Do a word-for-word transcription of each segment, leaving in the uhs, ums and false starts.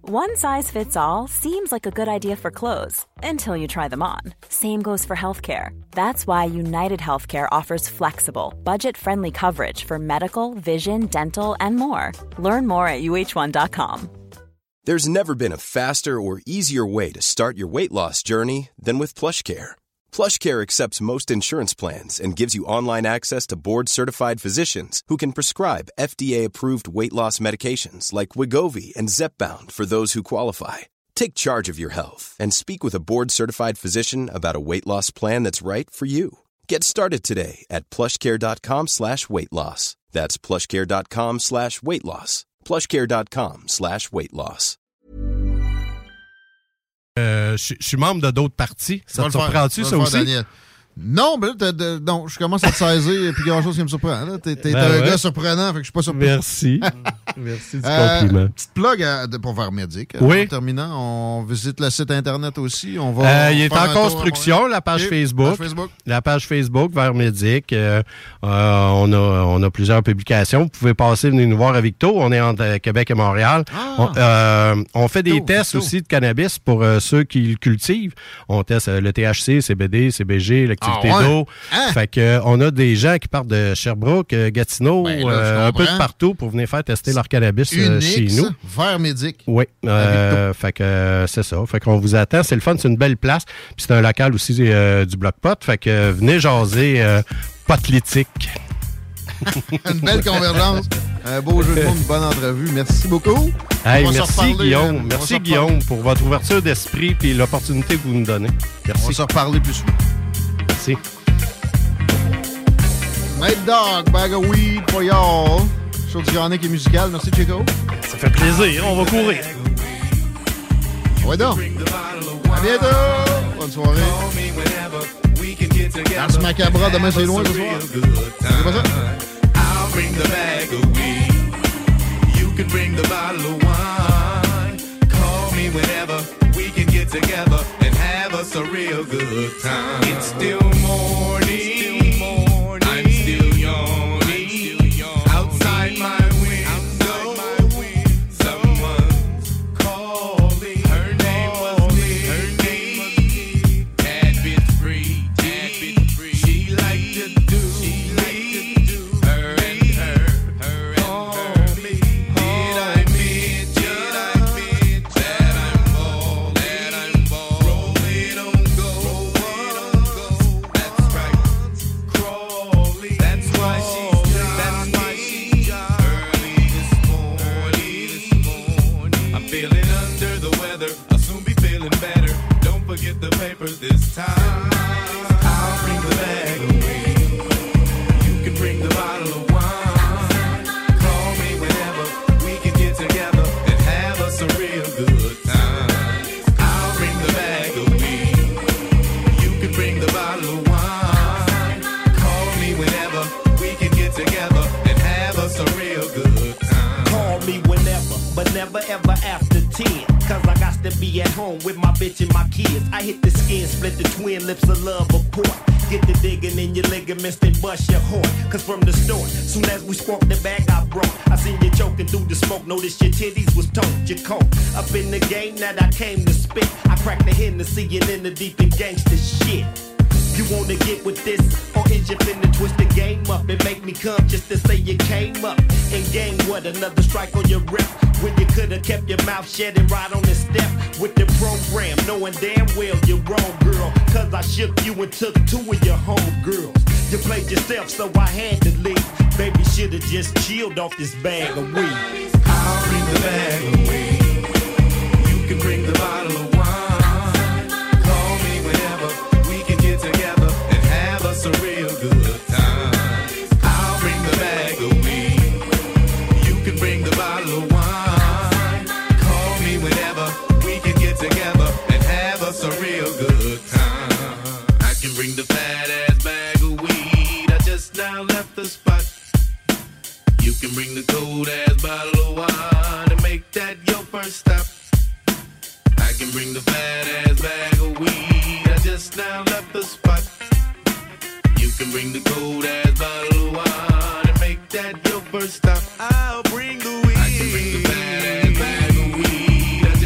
One size fits all seems like a good idea for clothes until you try them on. Same goes for healthcare. That's why United Healthcare offers flexible, budget-friendly coverage for medical, vision, dental, and more. Learn more at U H one dot com. There's never been a faster or easier way to start your weight loss journey than with PlushCare. PlushCare accepts most insurance plans and gives you online access to board-certified physicians who can prescribe F D A-approved weight loss medications like Wegovy and Zepbound for those who qualify. Take charge of your health and speak with a board-certified physician about a weight loss plan that's right for you. Get started today at plushcare.com slash weight loss. That's plushcare.com slash weight loss. plushcare.com slash weight loss. Euh, je suis membre de d'autres partis. Ça te surprend-tu, ça aussi? Daniel. Non, ben là, t'as, t'as, non, je commence à te saisir et puis grand chose qui me surprend. Là. T'es, t'es ben un ouais. gars surprenant, fait que je suis pas surpris. Merci. Merci du euh, compliment. Petite plug à, de, pour Vermédic. Oui. En terminant, on visite le site Internet aussi. On va euh, il est en construction, la page, okay. Facebook, page Facebook. La page Facebook, Vermédic. Euh, euh, on, a, on a plusieurs publications. Vous pouvez passer, venir nous voir à Victo. On est entre euh, Québec et Montréal. Ah. On, euh, on fait des Victo, tests Victo. aussi de cannabis pour euh, ceux qui le cultivent. On teste euh, le T H C, C B D, C B G, l'activité ah, ouais. d'eau. Hein? Fait que euh, on a des gens qui partent de Sherbrooke, euh, Gatineau, ben là, euh, un peu de partout pour venir faire tester leur cannabis euh, chez nous. Vermédic. Oui. Euh, fait que euh, c'est ça. Fait qu'on vous attend. C'est le fun, c'est une belle place. Puis c'est un local aussi euh, du Bloc Pot. Fait que euh, venez jaser euh, potlitique. Une belle convergence. Un beau jeu de mots, une bonne entrevue. Merci beaucoup. Hey, merci Guillaume. Merci Guillaume pour votre ouverture d'esprit et l'opportunité que vous nous donnez. Merci. On va se reparler plus souvent. Merci. Night Dog, bag of weed for y'all. Show du Yannick et musical. Merci, Chico. Ça fait plaisir. On va courir. Ouais, donc. À bientôt. Bonne soirée. Ars Macabra, demain, c'est loin ce soir. C'est pas ça? I'll bring the bag of weed. You can bring the bottle of wine. Call me whenever we can get together and have us a real good time. It's still morning. I'm still yawning. Outside my window, someone's calling. Her name was Nikki. Tad bit free, tad bit free. She liked to do, she liked to do. Her and her, her and her. Did I mention that I'm bald, that I'm bald? Rolling on go, that's right. Crawling, that's why she's that's why she's early this morning, this morning. I'm feeling under the weather. I'll soon be feeling better. Don't forget the papers this time. I'll bring the bag of weed. You can bring the bottle of wine. Call me whenever we can get together and have us a real good time. I'll bring the bag of weed. You can bring the bottle of wine. Call me whenever we can get together and have us a real good time. Call me whenever, but never ever after ten. Cause I got to be at home with my bitch and my kids. I hit the skin, split the twin lips of love apart. Get the digging in your ligaments, then bust your horn. Cause from the start, soon as we sparked the bag I brought, I seen you choking through the smoke. Noticed your titties was told you cold. Up in the game that I came to spit. I cracked the Hennessy and in the deep in gangsta shit. You wanna get with this, or is you finna twist the game up and make me come just to say you came up and gained what? Another strike on your rep when you could've kept your mouth shut and ride on the step with the program, knowing damn well you're wrong, girl. Cause I shook you and took two of your homegirls. You played yourself, so I had to leave. Baby should've just chilled off this bag of weed. I'll bring the bag of weed. You can bring the bottle of wine. Together and have us a real good time. I'll bring the bag of weed. You can bring the bottle of wine. Call me whenever we can get together and have us a real good time. I can bring the fat ass bag of weed. I just now left the spot. You can bring the cold ass bottle of wine and make that your first stop. I can bring the fat ass bag of weed. I just now left the spot. You can bring the cold ass bottle of wine and make that your first stop. I'll bring the weed. I can bring the fat ass bag of weed. I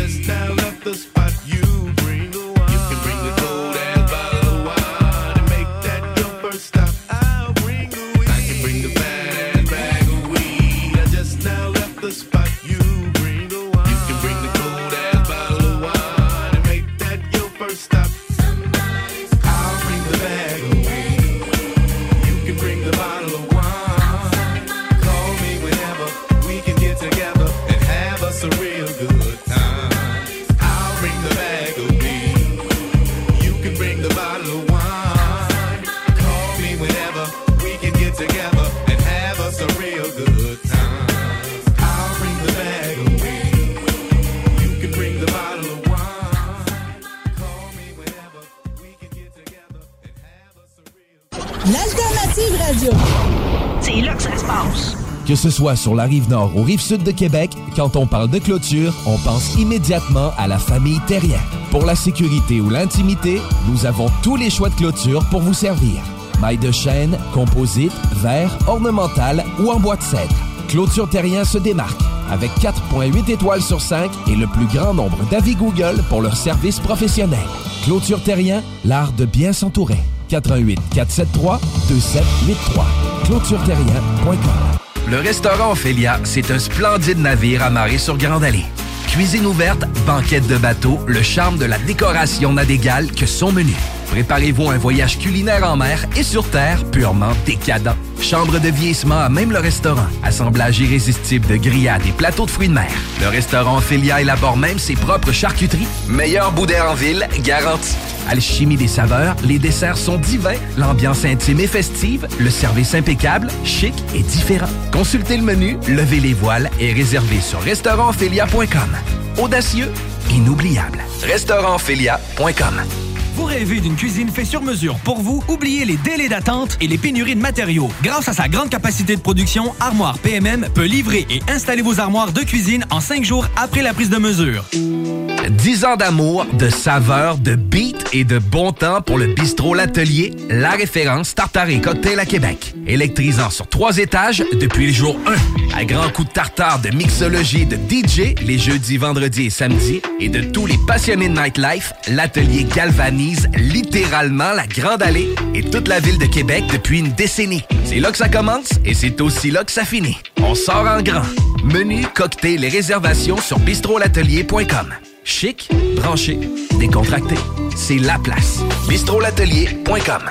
deuxième. C'est là que ça se passe. Que ce soit sur la rive nord ou rive sud de Québec, quand on parle de clôture, on pense immédiatement à la famille Terrien. Pour la sécurité ou l'intimité, nous avons tous les choix de clôture pour vous servir. Maille de chêne, composite, verre, ornemental ou en bois de cèdre. Clôture Terrien se démarque avec quatre virgule huit étoiles sur cinq et le plus grand nombre d'avis Google pour leur service professionnel. Clôture Terrien, l'art de bien s'entourer. quatre un huit, quatre sept trois, deux sept huit trois. clôture terrien point com. Le restaurant Ophélia, c'est un splendide navire amarré sur Grande Allée. Cuisine ouverte, banquette de bateau, le charme de la décoration n'a d'égal que son menu. Préparez-vous un voyage culinaire en mer et sur terre purement décadent. Chambre de vieillissement à même le restaurant. Assemblage irrésistible de grillades et plateaux de fruits de mer. Le restaurant Ophélia élabore même ses propres charcuteries. Meilleur boudin en ville, garanti. Alchimie des saveurs, les desserts sont divins, l'ambiance intime et festive, le service impeccable, chic et différent. Consultez le menu, levez les voiles et réservez sur restaurant ophélia point com. Audacieux, inoubliable. restaurant ophélia point com. Vous rêvez d'une cuisine faite sur mesure pour vous? Oubliez les délais d'attente et les pénuries de matériaux. Grâce à sa grande capacité de production, Armoire P M M peut livrer et installer vos armoires de cuisine en cinq jours après la prise de mesure. dix ans d'amour, de saveur, de beat et de bon temps pour le bistrot L'Atelier, la référence tartare et cocktail à Québec. Électrisant sur trois étages depuis le jour un. À grands coups de tartare, de mixologie, de D J, les jeudis, vendredis et samedis, et de tous les passionnés de nightlife, L'Atelier galvanise littéralement la Grande Allée et toute la ville de Québec depuis une décennie. C'est là que ça commence et c'est aussi là que ça finit. On sort en grand. Menu, cocktail et réservations sur bistrot l'atelier point com. Chic, branché, décontracté. C'est la place. bistrot l'atelier point com.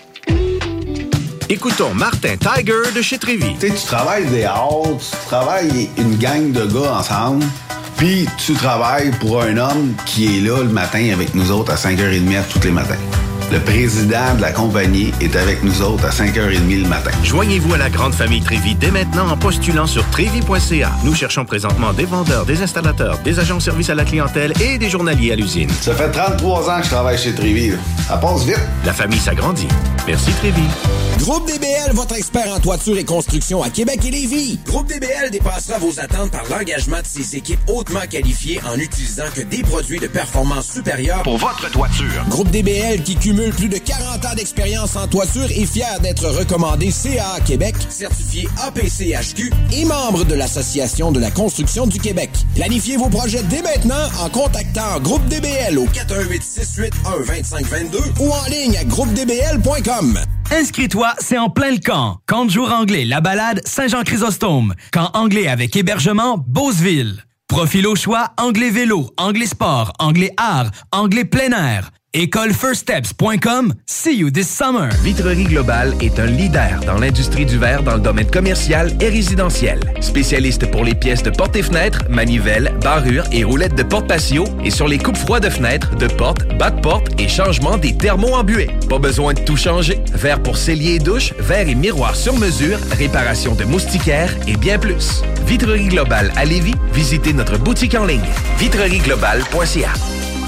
Écoutons Martin Tiger de chez Trévy. Tu sais, tu travailles dehors, tu travailles une gang de gars ensemble, puis tu travailles pour un homme qui est là le matin avec nous autres à cinq heures trente tous les matins. Le président de la compagnie est avec nous autres à cinq heures trente le matin. Joignez-vous à la grande famille Trévy dès maintenant en postulant sur trévy point c a. Nous cherchons présentement des vendeurs, des installateurs, des agents de service à la clientèle et des journaliers à l'usine. Ça fait trente-trois ans que je travaille chez Trévy. Ça passe vite. La famille s'agrandit. Merci Trévy. Groupe D B L, votre expert en toiture et construction à Québec et Lévis. Groupe D B L dépassera vos attentes par l'engagement de ses équipes hautement qualifiées en utilisant que des produits de performance supérieure pour votre toiture. Groupe D B L qui cumule plus de quarante ans d'expérience en toiture est fier d'être recommandé C A A Québec, certifié A P C H Q et membre de l'Association de la construction du Québec. Planifiez vos projets dès maintenant en contactant Groupe D B L au quatre un huit, six huit un, deux cinq deux deux ou en ligne à groupe d b l point com. Inscris-toi, c'est en plein le camp. Camp de jour anglais, La Balade, Saint-Jean-Chrysostome. Camp anglais avec hébergement, Beauceville. Profil au choix, anglais vélo, anglais sport, anglais art, anglais plein air. école first steps point com. See you this summer. Vitrerie Globale est un leader dans l'industrie du verre dans le domaine commercial et résidentiel. Spécialiste pour les pièces de portes et fenêtres, manivelles, barrures et roulettes de porte patio et sur les coupes froids de fenêtres, de portes, bas de porte et changement des thermos embués. Pas besoin de tout changer. Verre pour cellier et douche, verre et miroir sur mesure, réparation de moustiquaires et bien plus. Vitrerie Globale à Lévis, visitez notre boutique en ligne vitrerie globale point c a.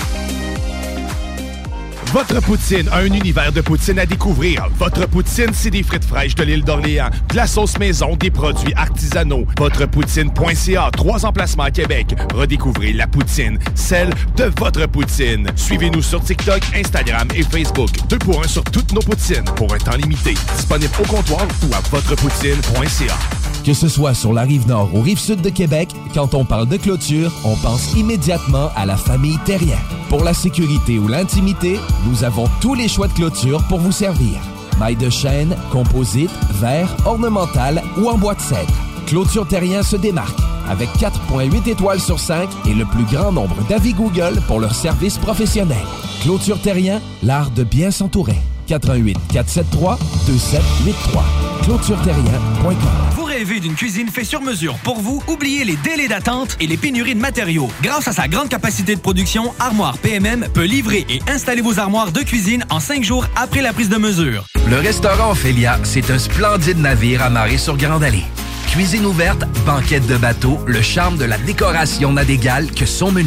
Votre poutine, un univers de poutine à découvrir. Votre poutine, c'est des frites fraîches de l'île d'Orléans, de la sauce maison, des produits artisanaux. Votrepoutine point c a, trois emplacements à Québec. Redécouvrez la poutine, celle de votre poutine. Suivez-nous sur TikTok, Instagram et Facebook. Deux pour un sur toutes nos poutines, pour un temps limité. Disponible au comptoir ou à votrepoutine point c a. Que ce soit sur la rive nord ou rive sud de Québec, quand on parle de clôture, on pense immédiatement à la famille Terrien. Pour la sécurité ou l'intimité, nous avons tous les choix de clôture pour vous servir. Maille de chêne, composite, verre, ornemental ou en bois de cèdre. Clôture Terrien se démarque avec quatre virgule huit étoiles sur cinq et le plus grand nombre d'avis Google pour leur service professionnel. Clôture Terrien, l'art de bien s'entourer. quatre un huit, quatre sept trois, deux sept huit trois. clôture terrien point com. Vous rêvez d'une cuisine faite sur mesure pour vous? Oubliez les délais d'attente et les pénuries de matériaux. Grâce à sa grande capacité de production, Armoire P M M peut livrer et installer vos armoires de cuisine en cinq jours après la prise de mesure. Le restaurant Ophélia, c'est un splendide navire amarré sur Grande Allée. Cuisine ouverte, banquette de bateau, le charme de la décoration n'a d'égal que son menu.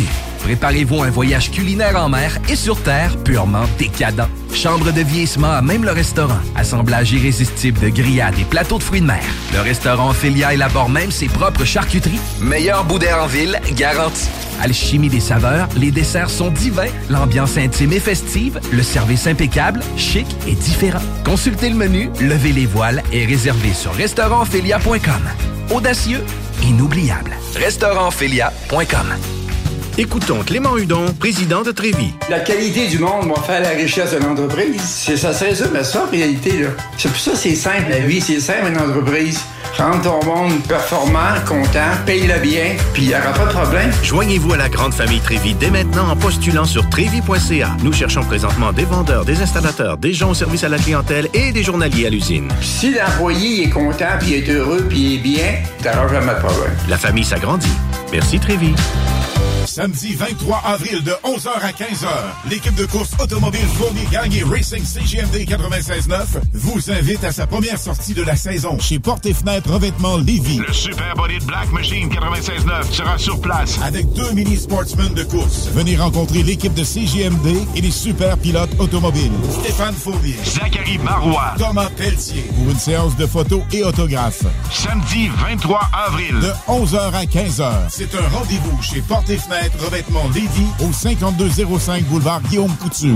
Préparez-vous un voyage culinaire en mer et sur terre purement décadent. Chambre de vieillissement à même le restaurant. Assemblage irrésistible de grillades et plateaux de fruits de mer. Le restaurant Ophélia élabore même ses propres charcuteries. Meilleur boudin en ville, garanti. Alchimie des saveurs, les desserts sont divins, l'ambiance intime et festive, le service impeccable, chic et différent. Consultez le menu, levez les voiles et réservez sur restaurant ophélia point com. Audacieux, inoubliable. restaurant ophélia point com. Écoutons Clément Hudon, président de Trévis. La qualité du monde va faire la richesse de l'entreprise. C'est, ça se résume à ça, en réalité. Là. C'est pour ça que c'est simple, la vie. C'est simple, une entreprise. Rendre ton monde performant, content, paye-le bien, puis il n'y aura pas de problème. Joignez-vous à la grande famille Trévis dès maintenant en postulant sur trévis point c a. Nous cherchons présentement des vendeurs, des installateurs, des gens au service à la clientèle et des journaliers à l'usine. Si l'employé est content, puis est heureux, puis est bien, t'auras jamais de problème. La famille s'agrandit. Merci Trévis. Samedi vingt-trois avril de onze heures à quinze heures, l'équipe de course automobile Fournier Gagné Racing C G M D quatre-vingt-seize neuf vous invite à sa première sortie de la saison chez Portes et Fenêtres Revêtement Lévis. Le Super Bolide Black Machine quatre-vingt-seize neuf sera sur place avec deux mini-sportsmen de course. Venez rencontrer l'équipe de C G M D et les super pilotes automobiles. Stéphane Fournier, Zachary Marois, Thomas Pelletier pour une séance de photos et autographes. Samedi vingt-trois avril de onze heures à quinze heures. C'est un rendez-vous chez Portes et Fenêtres Revêtement Lévis au cinquante-deux zéro cinq boulevard Guillaume Couture.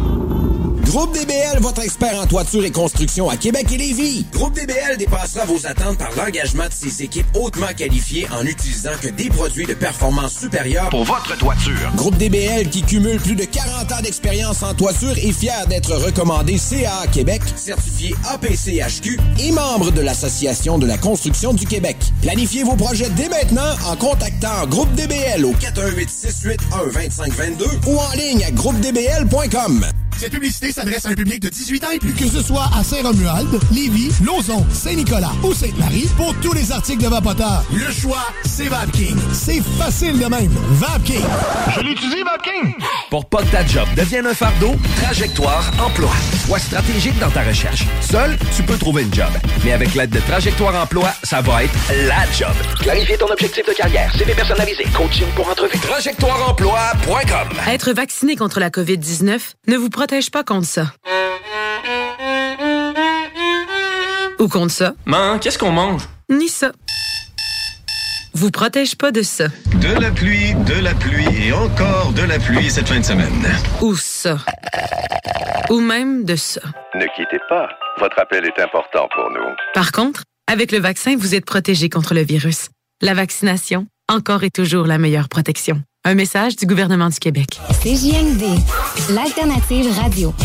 Groupe D B L, votre expert en toiture et construction à Québec et Lévis. Groupe D B L dépassera vos attentes par l'engagement de ses équipes hautement qualifiées en utilisant que des produits de performance supérieure pour votre toiture. Groupe D B L, qui cumule plus de quarante ans d'expérience en toiture, est fier d'être recommandé C A A Québec, certifié A P C H Q et membre de l'Association de la construction du Québec. Planifiez vos projets dès maintenant en contactant Groupe D B L au quatre un huit, six huit un, deux cinq deux deux ou en ligne à groupe d b l point com. Cette publicité s'adresse à un public de dix-huit ans et plus. Que ce soit à Saint-Romuald, Lévis, Lauson, Saint-Nicolas ou Sainte-Marie, pour tous les articles de Vapoteur, le choix, c'est VapKing. C'est facile de même. VapKing. Je l'utilise, VapKing. Pour pas que ta job devienne un fardeau, Trajectoire Emploi. Sois stratégique dans ta recherche. Seul, tu peux trouver une job. Mais avec l'aide de Trajectoire Emploi, ça va être la job. Clarifier ton objectif de carrière, C V personnalisé, coaching pour entrevue. trajectoire emploi point com. Être vacciné contre la covid dix-neuf ne vous protège pas contre ça. Ou contre ça. Man, qu'est-ce qu'on mange? Ni ça. Vous protège pas de ça. De la pluie, de la pluie et encore de la pluie cette fin de semaine. Ou ça. Ou même de ça. Ne quittez pas. Votre appel est important pour nous. Par contre, avec le vaccin, vous êtes protégé contre le virus. La vaccination, encore et toujours la meilleure protection. Un message du gouvernement du Québec. C J M D, l'alternative radio.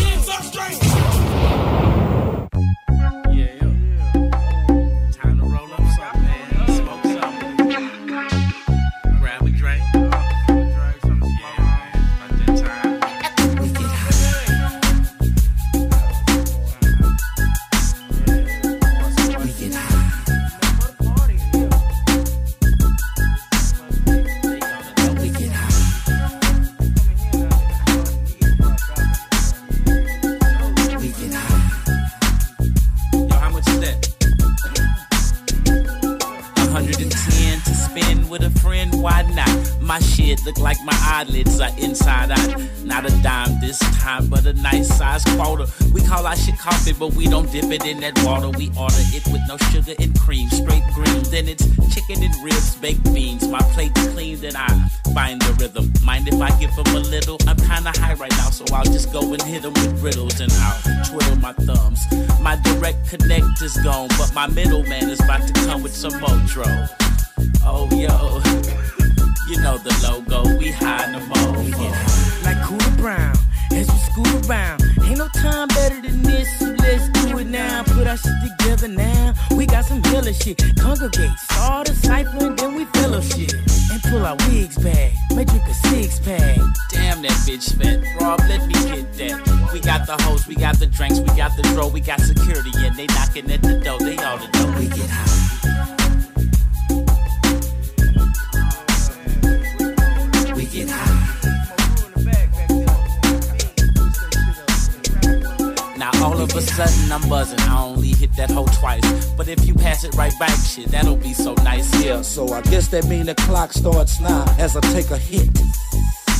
My shit look like my eyelids are inside out. Not a dime this time, but a nice size quarter. We call our shit coffee, but we don't dip it in that water. We order it with no sugar and cream, straight green. Then it's chicken and ribs, baked beans. My plate's clean, then I find the rhythm. Mind if I give them a little? I'm kinda high right now, so I'll just go and hit them with riddles. And I'll twiddle my thumbs. My direct connect is gone, but my middleman is about to come with some Motro. Oh, yo. You know the logo, we high no more. We get high. Like Cooler Brown, as we scoot around. Ain't no time better than this, so let's do it now. Put our shit together now. We got some killer shit. Congregate, start a cipher, and then we fellowship. And pull our wigs back, may drink a six pack. Damn, that bitch fat. Rob, let me get that. We got the host, we got the drinks, we got the draw, we got security, and they knocking at the door. They all the know we get high. Get high. Now all of a sudden I'm buzzing. I only hit that hoe twice, but if you pass it right back, shit, that'll be so nice. Yeah, so I guess that mean the clock starts now as I take a hit.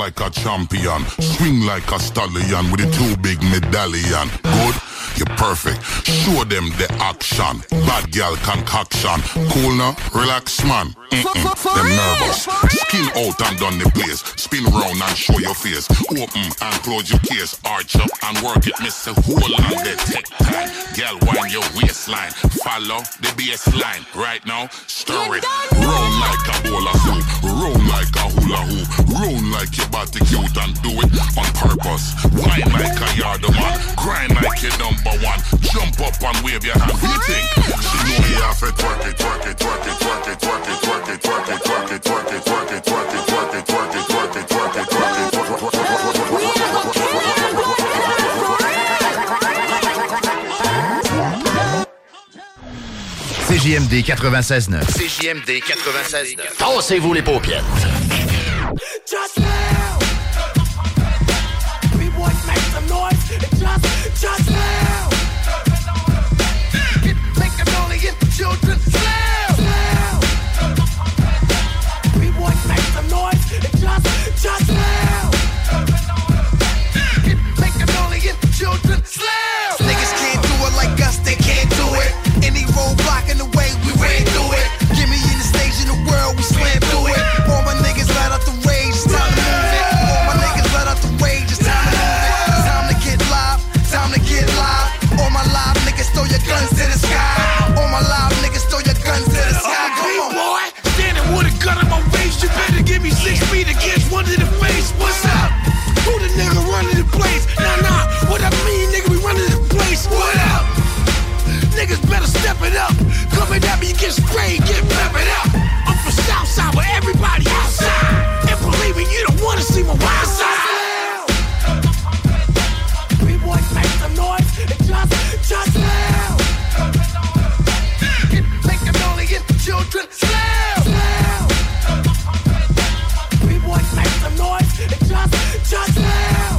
like a champion. Swing like a stallion with a two big medallion. Good? You're perfect. Show them the action. Bad girl concoction. Cool now? Relax, man. Mm-mm. Them nervous. Skin out and done the place. Spin round and show your face. Open and close your case. Arch up and work it. Miss a hole on the tech time. Girl, wind your waistline. Follow the baseline. Right now, stir it. Round like a bowl of soup. Round like a hula hoop. Round like your body cute and do it on purpose. Wine like a yard man. Grind like your number one. Jump up and wave your hand. What do you think? She know you have to twerk it, twerk it, twerk it, twerk it, twerk it, twerk it, twerk it, twerk it, twerk it, twerk it, twerk it, twerk it, twerk it, twerk it, twerk it, twerk it, C J M D quatre-vingt-seize neuf. C J M D quatre-vingt-seize neuf. Tassez-vous les paupières. Just now. We boys make some noise. Just, just now. Make a million children slow. We boys make some noise. Just, just now. Make a million children slow. Niggas can't do it like us, they can't do it. Any roadblock in the way, we ran through it. Give me any stage in the world, we slam through it. All my niggas let out the rage, it's time to move it. All my niggas let out the rage, it's time to move it. Time to get live, time to get live. All my live niggas throw your guns to the sky. All my live niggas throw your guns to the sky. Come on, boy, standing with a gun in my waist. You better give me six feet against one to the face. What's up? Who the nigga running the place? Nah, nah, what I mean, nigga, we running the place. What up? Niggas better step it up. Coming at me, you get sprayed, get peppered up. I'm from Southside where everybody outside. And believe me, you don't wanna see my wild side. We boys make some noise. Just, just loud. Make a million children slow. We boys make some noise. Just, just loud.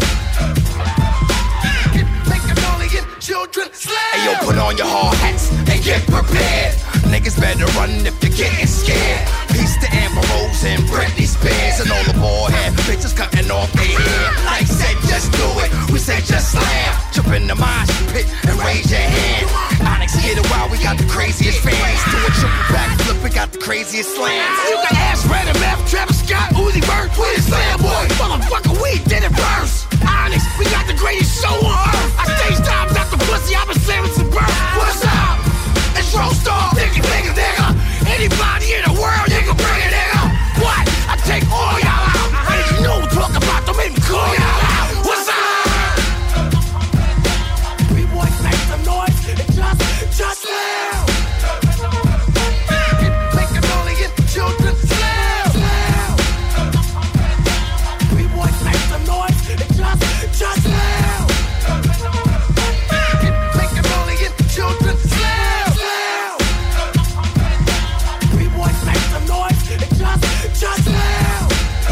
Make a million children slow. Hey yo, put on your hard hats and get prepared. Niggas better run if you're getting scared. Peace to Amber Rose and Britney Spears and all the bald head bitches cutting off their hair. Like said, just do it. We said just slam. Jump in the mosh pit and raise your hand. Onyx hit it while we got the craziest fans. Do a triple back flip, we got the craziest slams. You can ask Red M F, Travis Scott, Uzi Vert, we the slam boy. Motherfucker, we did it first. Onyx, we got the greatest show on earth. I stage times out the pussy, I've been slamming some birth. What's up? It's Roadstar, nigga, nigga, nigga. Anybody in the world, nigga, bring it, nigga. What? I take all y'all out. And you know what I'm talking about, don't make me call y'all out. What's up? We boys make some noise. Just, just loud. Make a million children slow. We boys make some noise. Just, just loud. Make a million children slow. Just loud.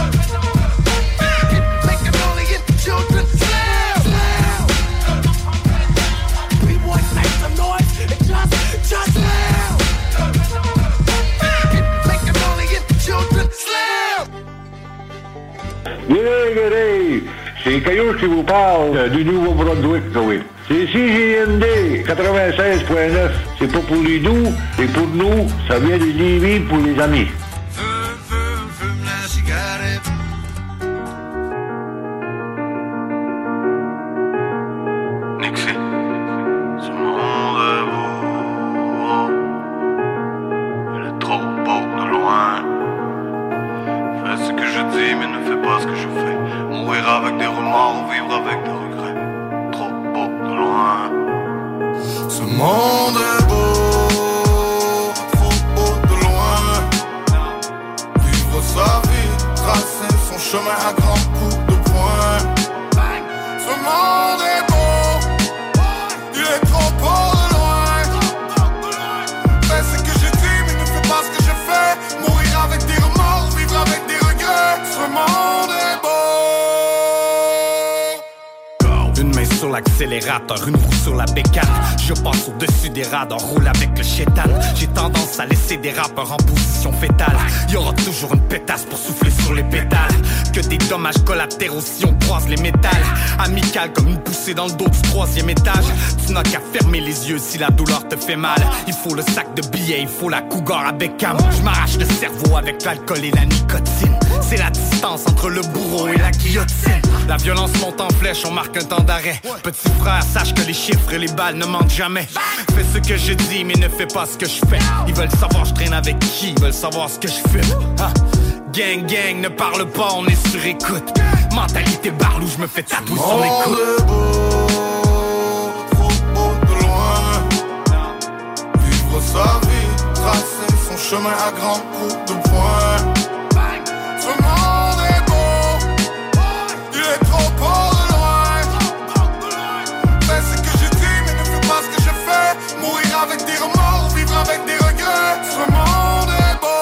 Make a million children slow. We boys make some noise. Just, just loud. Make a million children slow. G'day, g'day. C'est Caillou qui vous parle du Nouveau-Brunswick, oui. C'est C J M D quatre-vingt-seize neuf. C'est pas pour les doux, c'est pour nous. Ça vient de Lévis pour les amis. Une roue sur la bécane, je passe au-dessus des radars, roule avec le chétan. J'ai tendance à laisser c'est des rappeurs en position fétale. Y'aura toujours une pétasse pour souffler sur les pétales. Que des dommages collatéraux si on croise les métals. Amical comme une poussée dans le dos du troisième étage. Tu n'as qu'à fermer les yeux si la douleur te fait mal. Il faut le sac de billets, il faut la cougar avec cam. Je m'arrache le cerveau avec l'alcool et la nicotine. C'est la distance entre le bourreau et la guillotine. La violence monte en flèche, on marque un temps d'arrêt. Petit frère, sache que les chiffres et les balles ne mentent jamais. Fais ce que je dis mais ne fais pas ce que je fais. Ils veulent savoir je traîne avec qui, ils veulent savoir ce que je fume. Ah. Gang gang, ne parle pas, on est sur écoute. Mentalité barlou, je me fais tatouer sur l'écoute. Est beau, trop beau de loin. Vivre sa vie, tracer son chemin à grands coups de poing. Ce monde est beau, il est trop beau de loin. Fais ce que je dis, mais ne fais pas ce que je fais. Mourir avec des remords, vivre avec des regrets. Ce monde est beau.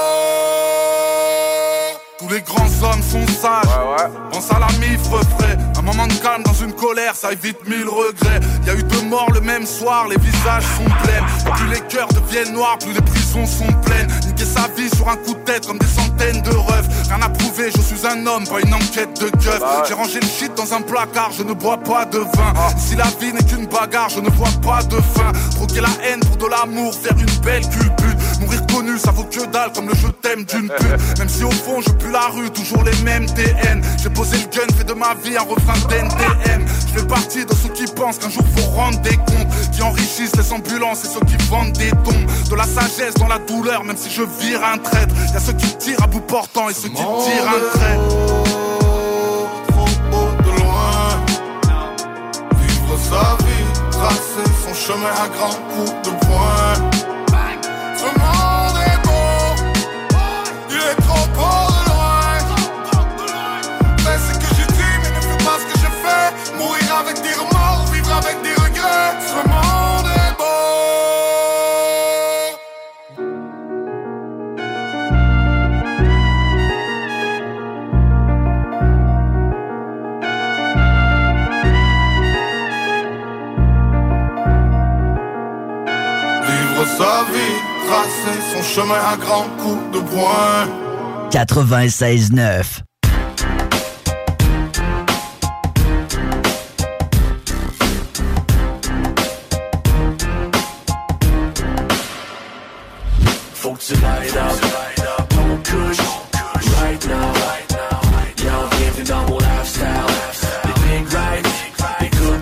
Tous les grands hommes sont sages, ouais, ouais. Pense à la mif refrais. Un moment de calme dans une colère, ça évite mille regrets. Y'a eu deux morts le même soir, les visages sont pleins. Plus les cœurs deviennent noirs, plus les prisons sont pleines. Niquer sa vie sur un coup de tête comme des centaines de refs. Rien à prouver, je suis un homme, pas une enquête de keuf. Bah ouais. J'ai rangé le shit dans un placard, je ne bois pas de vin. ah. Si la vie n'est qu'une bagarre, je ne vois pas de fin. Troquer la haine pour de l'amour, faire une belle culbute. Mourir connu, ça vaut que dalle comme le je t'aime d'une pute. Même si au fond je pue la rue, toujours les mêmes T N. J'ai posé le gun, fait de ma vie un refrain d'N T M. Je fais partie de ceux qui pensent qu'un jour faut rendre des comptes, qui enrichissent les ambulances et ceux qui vendent des dons. De la sagesse dans la douleur, même si je vire un traître. Y'a ceux qui tirent à bout portant et ceux qui tirent un trait. Trop beau de loin. Vivre sa vie, tracer son chemin à grands coups de poing. Ce monde est beau, il est trop beau de loin. Fais ce que je dis, mais ne fais pas ce que je fais. Mourir avec des remords, vivre avec des regrets. Ce monde est beau. Vivre sa vie, tracer son chemin à grands coups de poing. quatre-vingt-seize neuf. Faut que tu light up, ton couche, right now. Y'a bienvenue dans mon lifestyle. Des big rides, des good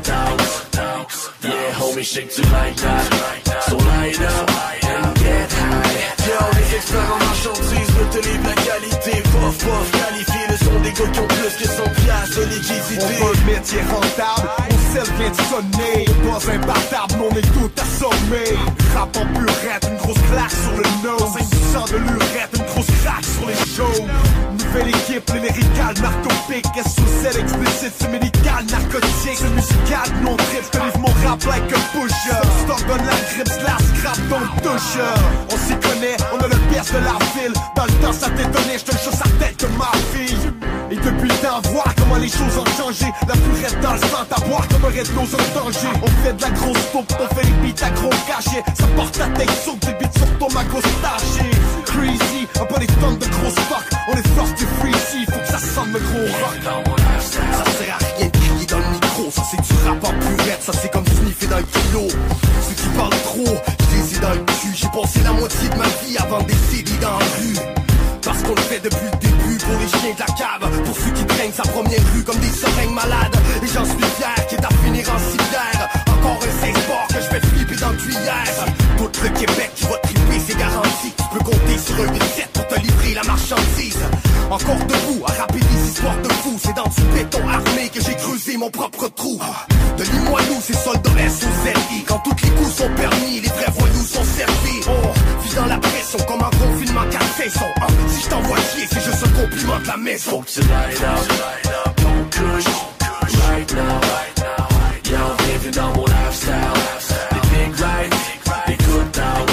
times. Yeah, homie, shake tu like that. So light up and get high. Yo, les experts en marchandises me te livrent la qualité. Puff, puff, qualifié, le son des gars qui ont plus que cent piastres de liquidité. On veut le métier rentable, on sait vient de sonner. Pas imbattable, on est tout assommé. Rap en purette, une grosse claque sur le nose. cinq pour cent de l'urette, une grosse craque sur les shows. Nouvelle équipe, les lyricales, narcopiques. S-sous-celle explicite, c'est médical, narcotique. C'est musical, nous on tripe, je te livre mon rap like a pusher. Stock donne la grippe, slash, scrap, don't touche. On s'y connaît, on a le best de la ville. Dans le temps ça t'étonnait, je te jure sa tête que ma fille. Et depuis le temps, voir comment les choses ont changé. La purette dans le sang, à boire comme un red nose en danger. On fait de la grosse taupe, on fait les beats à gros cachet. Ça porte la tête saute des beats sur ton magot staché. Crazy, un peu des tonnes de gros stock. On est force du freezy, faut que ça sonne le gros rock. Ça sert à rien de crier dans le micro. Ça c'est du rap en purette, ça c'est comme sniffer dans le kilo. Ceux qui parlent trop, je les ai dans le cul. J'ai passé la moitié de ma vie avant des C D dans la rue. Parce qu'on le fait depuis le début pour les chiens de la cave. Pour ceux qui traînent sa première rue comme des seringues malades. Et j'en suis fier, quitte à finir en civière. Encore un seize bord que je vais flipper dans le tuyère. Tout le Québec qui va triper, c'est garanti. Tu peux compter sur un huit sept pour te livrer la marchandise. Encore debout, à rapper des histoires de fous. C'est dans du béton armé que j'ai creusé mon propre trou. De Limoilou, c'est soldat S O Z I. Quand tous les coups sont permis, les vrais voyous sont servis. On vit dans la pression comme un confinement quatre saisons. Si je t'envoie chier, c'est juste un compliment de la maison. Faut que tu light up, ton couche, right now. Y'a bienvenue dans mon lifestyle. Des big rides, des good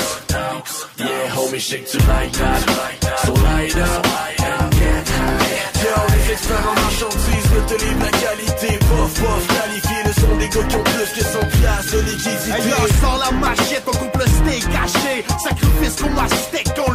times. Yeah, homie, shake tu like that. So light up and get high. Yo, les experts en marchandises me te livrent la qualité. Puff, puff, qualifié, le son des gars qui ont plus que cent piastres de liquidité. Hey, là, sors la machette, on coupe le steak caché. Sacrifice qu'on ma steak, on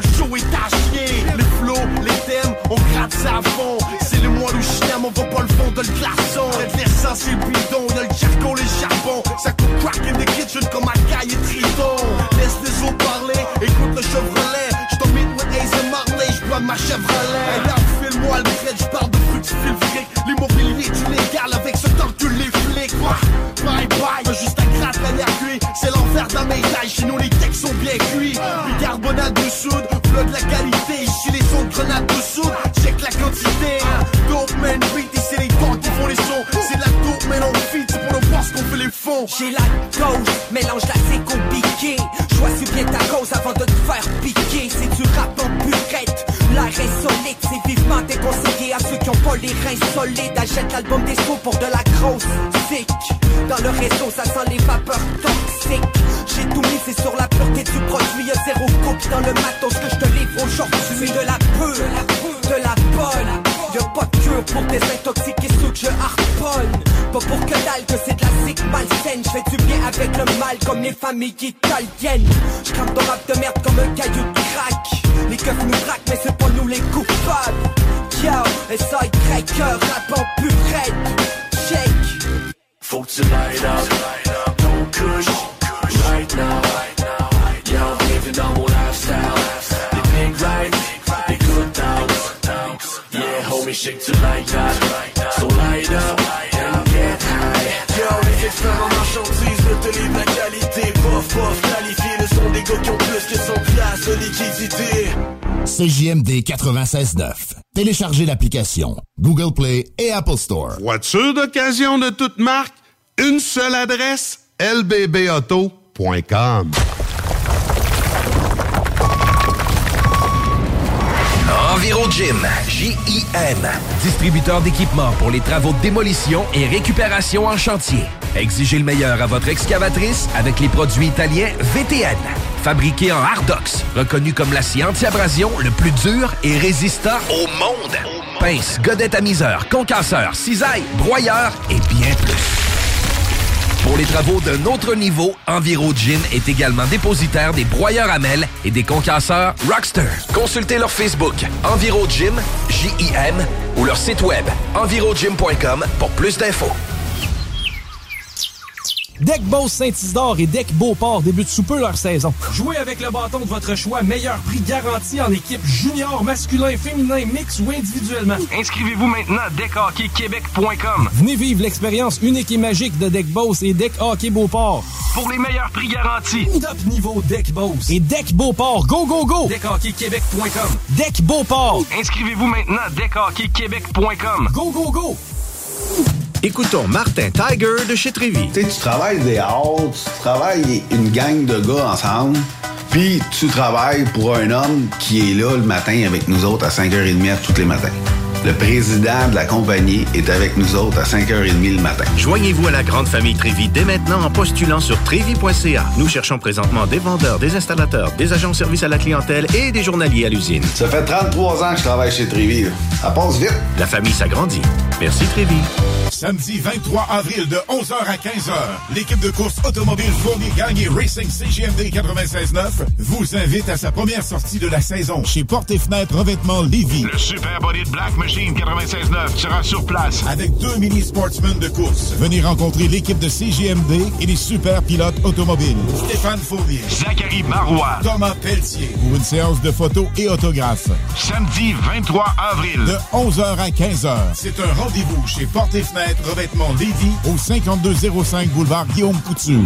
savon. C'est le mois où chien, on va pas le fond de le glaçon. Faites l'essence et le bidon, y'a le charcoal et le charbon. Ça coupe crack in the kitchen comme un caille et triton. Laisse les autres parler, écoute le Chevrolet. J't'en meet with Ace et Marley, j'bois ma Chevrolet. Hey, là, file-moi le crête, j'parle de fructifile fric. L'immobilier est illégal avec ce temps que les flics. Bye bye, y'a juste un gratte à l'air cuit. C'est l'enfer dans mes tailles, chez nous les textes sont bien cuits. Bicarbonate de soude, flot de la qualité. Ici les sons de grenade de soude, check la quantité. Dope man beat, et c'est les temps qui font les sons. C'est la dope man on feed, c'est pour le boss qu'on fait les fonds. J'ai la dose, mélange la c'est compliqué. Choisis bien ta cause avant de te faire piquer. C'est du rap en purette, l'air est solide. C'est vivement déconseillé à ceux qui ont pas les reins solides. Achète l'album des sous pour de la grosse sick. Dans le réseau ça sent les vapeurs toxiques. J'ai tout misé sur la pureté du produit. Y'a zéro coupe dans le matos que je te livre aujourd'hui. De la pure, de la bonne. Y'a pas de cure pour désintoxiquer ceux que je harponne. Pas pour que dalle que c'est de la sick malsaine. J'fais du bien avec le mal comme les familles italiennes. J'crame ton rap de merde comme un caillou de crack. Les keufs nous braquent mais c'est pas nous les coupables. Yo, S A Y rap en purette. Check. Faut que tu light up ton kush right now. Yo, bienvenue dans mon lifestyle. Des big rides, des good times. Yeah, homie, shake to like that. So light up and get high. Yo, les experts en marchandises ne te livrent la qualité. Pof, pof, qualifié, le son des gars qui ont plus que son classe de liquidité. C J M D quatre-vingt-seize neuf. Téléchargez l'application Google Play et Apple Store. Voiture d'occasion de toute marque, une seule adresse, L B B auto point com. EnviroGym, J I M, distributeur d'équipements pour les travaux de démolition et récupération en chantier. Exigez le meilleur à votre excavatrice avec les produits italiens V T N. Fabriqué en Hardox, reconnu comme l'acier anti-abrasion le plus dur et résistant au monde. Pince, godette à miseur, concasseur, cisaille, broyeur et bien plus. Pour les travaux d'un autre niveau, EnviroGym est également dépositaire des broyeurs à mêles et des concasseurs Rockster. Consultez leur Facebook EnviroGym, J I M, ou leur site web envirogym point com pour plus d'infos. Deck Boss Saint-Isidore et Deck Beauport débutent sous peu leur saison. Jouez avec le bâton de votre choix, meilleur prix garanti en équipe junior, masculin, féminin, mix ou individuellement. Inscrivez-vous maintenant à deck hockey québec point com. Venez vivre l'expérience unique et magique de Deck Boss et Deck Hockey Beauport. Pour les meilleurs prix garantis. Top niveau Deck Boss et Deck Beauport. Go, go, go! deck hockey québec point com. Deck Beauport. Inscrivez-vous maintenant à deck hockey québec point com. Go, go, go! Écoutons Martin Tiger de chez Trévis. Tu sais, tu travailles des heures, tu travailles une gang de gars ensemble, puis tu travailles pour un homme qui est là le matin avec nous autres à cinq heures trente tous les matins. Le président de la compagnie est avec nous autres à cinq heures trente le matin. Joignez-vous à la grande famille Trévis dès maintenant en postulant sur trévis point c a. Nous cherchons présentement des vendeurs, des installateurs, des agents de service à la clientèle et des journaliers à l'usine. Ça fait trente-trois ans que je travaille chez Trévis. Là. Ça passe vite. La famille s'agrandit. Merci Trévis. Samedi vingt-trois avril de onze heures à quinze heures, l'équipe de course automobile Fournier Gagné Racing C J M D quatre-vingt-seize neuf vous invite à sa première sortie de la saison chez Portes et Fenêtres Revêtement Lévis. Le Super Body de Black Machine quatre-vingt-seize neuf sera sur place avec deux mini-sportsmen de course. Venez rencontrer l'équipe de C J M D et les super pilotes automobiles. Stéphane Fournier, Zachary Marois, Thomas Pelletier pour une séance de photos et autographes. Samedi vingt-trois avril de onze heures à quinze heures. C'est un rendez-vous chez Portes et Fenêtres Revêtement Lévis au cinquante-deux zéro cinq boulevard Guillaume Couture.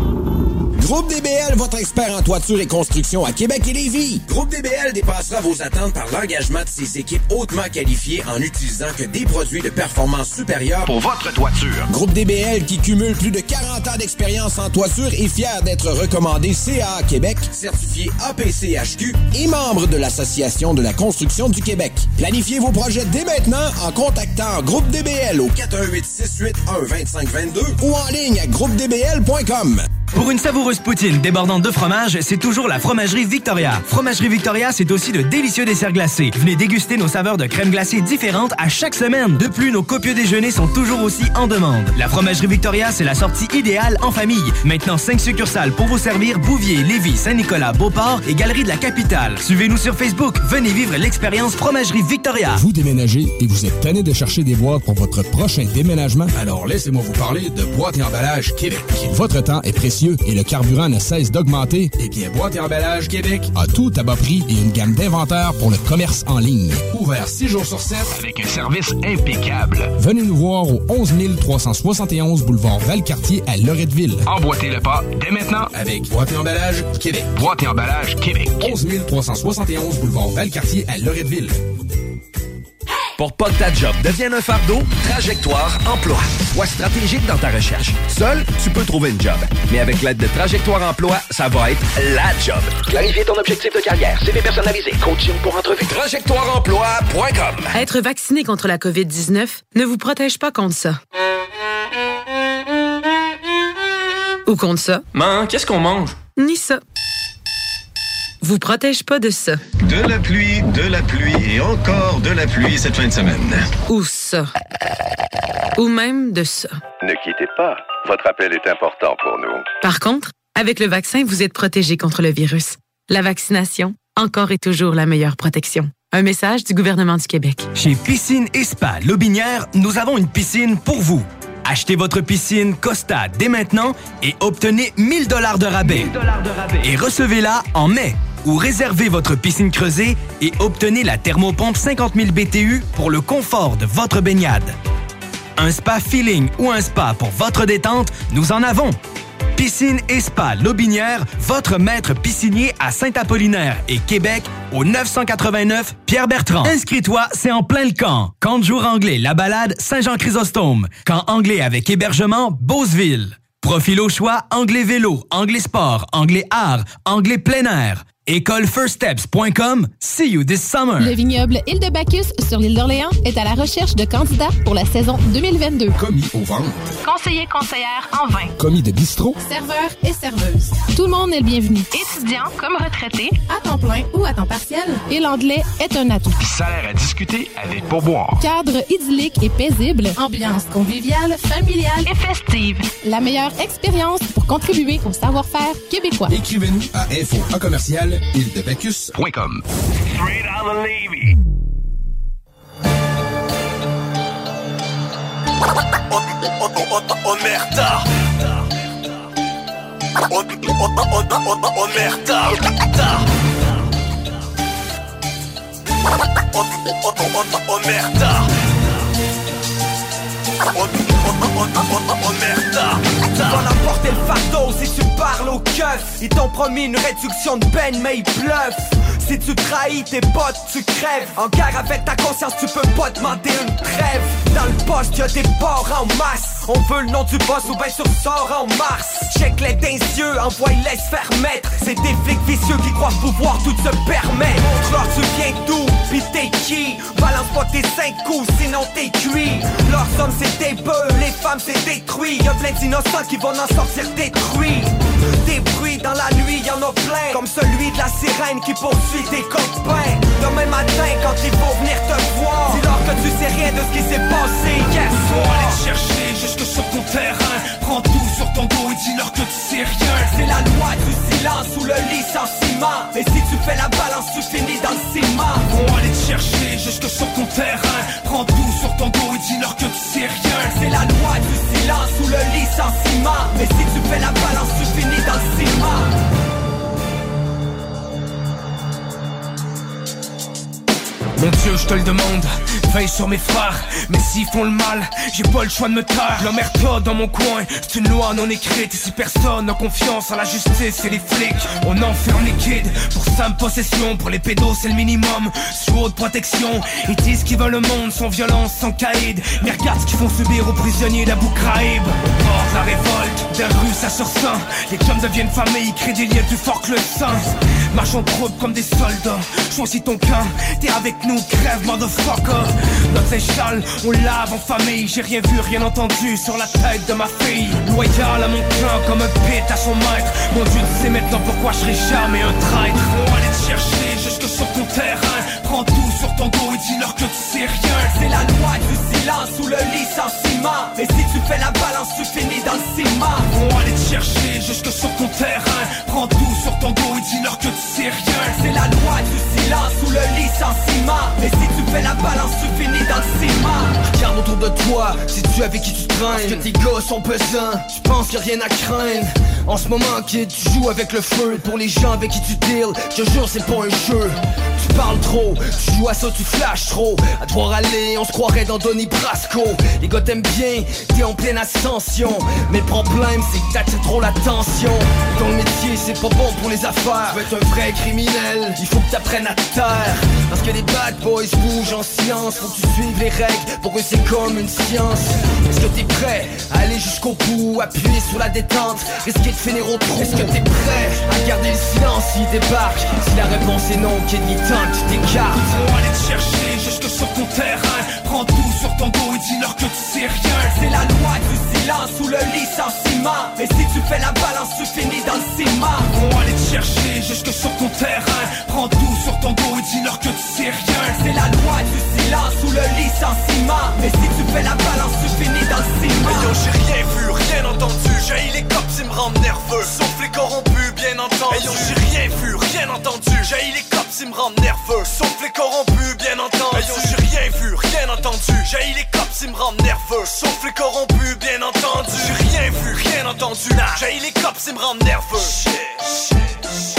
Groupe D B L, votre expert en toiture et construction à Québec et Lévis. Groupe D B L dépassera vos attentes par l'engagement de ses équipes hautement qualifiées en utilisant que des produits de performance supérieure pour votre toiture. Groupe D B L, qui cumule plus de quarante ans d'expérience en toiture, est fier d'être recommandé C A A Québec, certifié A P C H Q et membre de l'Association de la construction du Québec. Planifiez vos projets dès maintenant en contactant Groupe D B L au quatre un huit, six huit un, deux cinq deux deux ou en ligne à groupe d b l point com. Pour une savoureuse poutine débordante de fromage, c'est toujours la Fromagerie Victoria. Fromagerie Victoria, c'est aussi de délicieux desserts glacés. Venez déguster nos saveurs de crème glacée différentes à chaque semaine. De plus, nos copieux déjeuners sont toujours aussi en demande. La Fromagerie Victoria, c'est la sortie idéale en famille. Maintenant, cinq succursales pour vous servir: Bouvier, Lévis, Saint-Nicolas, Beauport et Galerie de la Capitale. Suivez-nous sur Facebook. Venez vivre l'expérience Fromagerie Victoria. Vous déménagez et vous êtes tanné de chercher des boîtes pour votre prochain déménagement? Alors laissez-moi vous parler de Boîte et Emballage Québec. Votre temps est précieux et le carburant ne cesse d'augmenter. Eh bien, Boîte et Emballage Québec a tout à bas prix et une gamme d'inventaires pour le commerce en ligne. Ouvert six jours sur sept avec un service impeccable. Venez nous voir au onze mille trois cent soixante et onze boulevard Valcartier à Loretteville. Emboîtez le pas dès maintenant avec Boîte et Emballage Québec. Boîte et Emballage Québec. onze mille trois cent soixante et onze boulevard Valcartier à Loretteville. Pour pas que ta job devienne un fardeau, Trajectoire Emploi. Sois stratégique dans ta recherche. Seul, tu peux trouver une job. Mais avec l'aide de Trajectoire Emploi, ça va être la job. Clarifier ton objectif de carrière, C V personnalisé, coaching pour entrevue. trajectoire emploi point com. Être vacciné contre la covid dix-neuf ne vous protège pas contre ça. Ou contre ça. Man, qu'est-ce qu'on mange? Ni ça. Vous protège pas de ça. De la pluie, de la pluie et encore de la pluie cette fin de semaine. Ou ça. Ou même de ça. Ne quittez pas. Votre appel est important pour nous. Par contre, avec le vaccin, vous êtes protégé contre le virus. La vaccination, encore et toujours la meilleure protection. Un message du gouvernement du Québec. Chez Piscine et Spa Lobinière, nous avons une piscine pour vous. Achetez votre piscine Costa dès maintenant et obtenez mille dollars de rabais. mille dollars de rabais. Et recevez-la en mai. Ou réservez votre piscine creusée et obtenez la thermopompe cinquante mille B T U pour le confort de votre baignade. Un spa feeling ou un spa pour votre détente, nous en avons. Piscine et Spa Lobinière, votre maître piscinier à Saint-Apollinaire et Québec au neuf cent quatre-vingt-neuf Pierre-Bertrand. Inscris-toi, c'est en plein le camp. Camp de jour anglais, La Balade, Saint-Jean-Chrysostome. Camp anglais avec hébergement, Beauceville. Profil au choix, anglais vélo, anglais sport, anglais art, anglais plein air. école first steps point com. See you this summer. Le vignoble Île de Bacchus sur l'île d'Orléans est à la recherche de candidats pour la saison deux mille vingt-deux. Commis au vent. Conseiller conseillère en vin. Commis de bistrot. Serveur et serveuse. Tout le monde est le bienvenu. Étudiant comme retraité, à temps plein ou à temps partiel. Et l'anglais est un atout. Salaire à discuter avec pourboire. Cadre idyllique et paisible. Ambiance conviviale, familiale et festive. La meilleure expérience pour contribuer au savoir-faire québécois. Écrivez-nous à info en commercial île de Bacchus point com. Straight out of Levy. Omerta. Omerta. Omerta. Tu vas l'emporter le fardeau si tu parles au keuf. Ils t'ont promis une réduction de peine mais ils bluffent. Si tu trahis tes potes, tu crèves. En guerre avec ta conscience, tu peux pas demander une trêve. Dans le poste, y'a des porcs en masse. On veut le nom du boss ou ben sur sort en mars. Check les d'un yeux, envoie-les se faire mettre. C'est des flics vicieux qui croient pouvoir tout se permettre. Montre-leur tu viens d'où, pis t'es qui. Balance pas tes cinq coups, sinon t'es cuit. Leurs hommes c'est des bœufs, les femmes c'est détruit. Y'a plein d'innocents qui vont en sortir détruits. Des bruits dans la nuit, y'en a plein. Comme celui de la sirène qui poursuit tes copains. Demain matin quand ils vont venir te voir, dis-leur que tu sais rien de ce qui s'est passé hier soir. Faut aller te chercher jusque sur ton terrain. Prends tout sur ton dos et dis-leur que tu sais rien. C'est la loi du silence ou le licenciement. Et si tu fais la balance, tu finis dans le ciment. Faut aller te chercher jusque sur ton terrain. Prends tout sur ton dos et dis-leur que tu sais rien. C'est la loi du silence ou le licenciement. Mais si tu fais la balance, tu finis dans le ciment. Mon Dieu, je te le demande, veille sur mes frères. Mais s'ils font le mal, j'ai pas le choix de me taire. L'omerta dans mon coin, c'est une loi non écrite. Ici personne n'a confiance en la justice et les flics. On enferme les kids pour simple possession. Pour les pédos c'est le minimum, sous haute protection. Ils disent qu'ils veulent le monde sans violence, sans caïd. Mais regarde ce qu'ils font subir aux prisonniers d'Abu Ghraib. Au bord de la révolte, des rues ça sur sein. Les hommes deviennent familles, ils créent des liens plus forts que le sang. Marche en troupe comme des soldats, choisis ton camp, t'es avec nous, crève motherfucker. Notre échelle, on lave en famille. J'ai rien vu, rien entendu sur la tête de ma fille. Loyal à mon clan comme un pit à son maître. Mon Dieu, tu sais maintenant pourquoi je serai jamais un traître. On va aller te chercher jusque sur ton terrain. Prends tout sur ton dos et dis-leur que tu sais rien. C'est la loi du silence ou le licenciement. Et si tu fais la balance, tu finis dans le ciment. On va aller te chercher jusque sur ton terrain. Prends tout sur ton dos et dis-leur que tu sais rien. C'est la loi du silence ou le licenciement. Et si tu fais la balance, tu finis dans le ciment. Regarde autour de toi, sais-tu avec qui tu te traînes? Parce que tes gars sont pesants, tu penses qu'il y a rien à craindre. En ce moment, kid, tu joues avec le feu. Pour les gens avec qui tu deals, je te jure, c'est pas un jeu. Tu parles trop, tu joues à ça, tu flashes trop. À te voir aller, on se croirait dans Donnie Brasco. Les gars t'aiment bien, t'es en pleine ascension. Mais le problème, c'est que t'attires trop l'attention. Dans le métier, c'est pas bon pour les affaires. Tu veux être un vrai criminel, il faut que t'apprennes à te taire. Parce que les bad boys bougent en silence. Faut que tu suives les règles, pour eux c'est comme une science. Est-ce que t'es prêt à aller jusqu'au bout, appuyer sur la détente, risquer de finir au trou? Est-ce que t'es prêt à garder le silence s'il débarque? Si la réponse est non, qu'il est temps que tu t'écartes. On va aller te chercher jusque sur ton terrain. Prends tout sur ton dos et dis-leur que tu sais rien. C'est la loi du silence ou le licenciement. Et si tu fais la balance, tu finis dans le ciment. On va aller te chercher jusque sur ton terrain. Prends tout sur ton dos et dis-leur que tu sais rien. C'est la loi du silence ou le licenciement. Et si tu fais la balance, tu finis dans le ciment. Yo, j'ai rien vu, rien entendu. J'ai les cops, ils me rendent nerveux. Sauf les corrompus, bien entendu. Yo, j'ai rien vu, rien entendu. J'ai les cops, ils me rendent nerveux. Sauf les corrompus, bien entendu. Yo, j'ai rien vu, rien entendu. J'ai les cops, ils me rendent nerveux. Sauf les corrompus, bien entendu. J'ai rien vu, rien entendu. J'ai les cops, ils me rendent nerveux. Shit, shit, shit.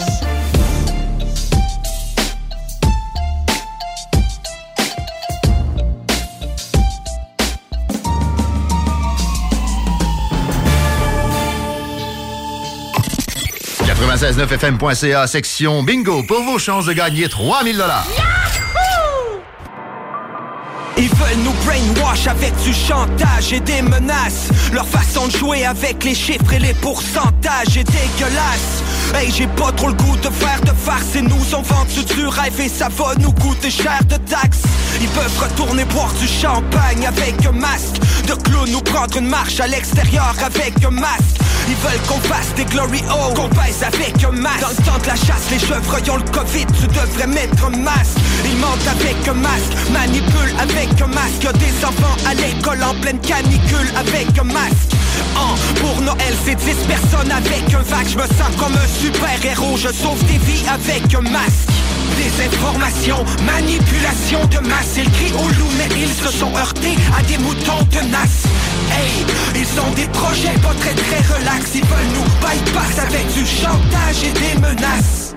quatre-vingt-seize neuf F M point C A, section bingo, pour vos chances de gagner trois mille dollars. Ils veulent nous brainwash avec du chantage et des menaces. Leur façon de jouer avec les chiffres et les pourcentages est dégueulasse. Hey, j'ai pas trop le goût de faire de farce. Et nous on vendu du rêve et ça va nous coûter cher de taxes. Ils peuvent retourner boire du champagne avec un masque de clown ou prendre une marche à l'extérieur avec un masque. Ils veulent qu'on fasse des glory holes, qu'on baise avec un masque. Dans le temps de la chasse, les chevreuils ont le Covid, tu devrais mettre un masque. Ils mentent avec un masque, manipulent avec un masque. Y'a des enfants à l'école en pleine canicule avec un masque. Oh, pour Noël, c'est dix personnes avec un vac. Je me sens comme un super-héros, je sauve des vies avec un masque. Désinformation, manipulation de masse. Ils crient au loup, mais ils se sont heurtés à des moutons tenaces. Hey, ils ont des projets pas très très relax. Ils veulent nous bypass avec du chantage et des menaces.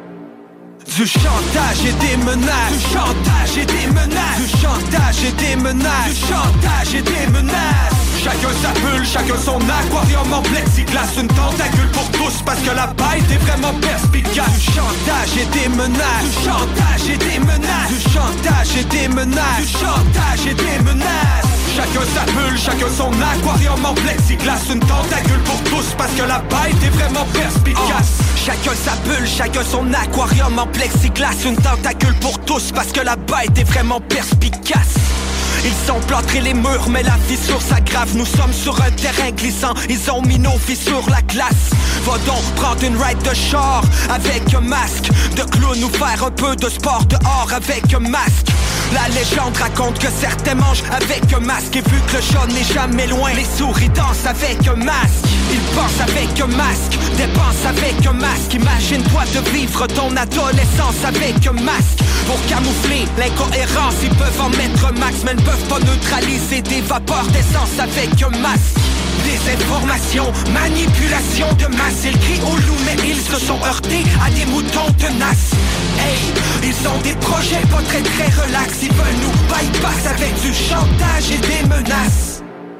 Du chantage et des menaces. Du chantage et des menaces. Du chantage et des menaces. Du chantage et des menaces. Chacun sa bulle, chacun son aquarium en plexiglas. Une tentacule pour tous parce que la bête est vraiment perspicace. Du chantage et des menaces. Du chantage et des menaces. Du chantage et des menaces. Du chantage et des menaces. Chacun sa bulle, chacun son aquarium en plexiglas. Une tentacule pour tous parce que la bête est vraiment perspicace. Oh. Chacun sa bulle, chacun son aquarium en plexiglas. Une tentacule pour tous parce que la bête est vraiment perspicace. Ils ont plâtré les murs, mais la fissure s'aggrave. Nous sommes sur un terrain glissant, ils ont mis nos vies sur la glace. Va donc prendre une ride de char avec un masque de clown ou faire un peu de sport dehors avec un masque. La légende raconte que certains mangent avec un masque. Et vu que le chat n'est jamais loin, les souris dansent avec un masque. Ils pensent avec un masque, dépensent avec un masque. Imagine-toi de vivre ton adolescence avec un masque. Pour camoufler l'incohérence, ils peuvent en mettre un max, mais ne peuvent pas neutraliser des vapeurs d'essence avec un masque. Désinformation, manipulation de masse. Ils crient au loup, mais ils se sont heurtés à des moutons tenaces. Hey, ils ont des projets pas très très relax. Ils veulent nous bypass avec du chantage et des menaces.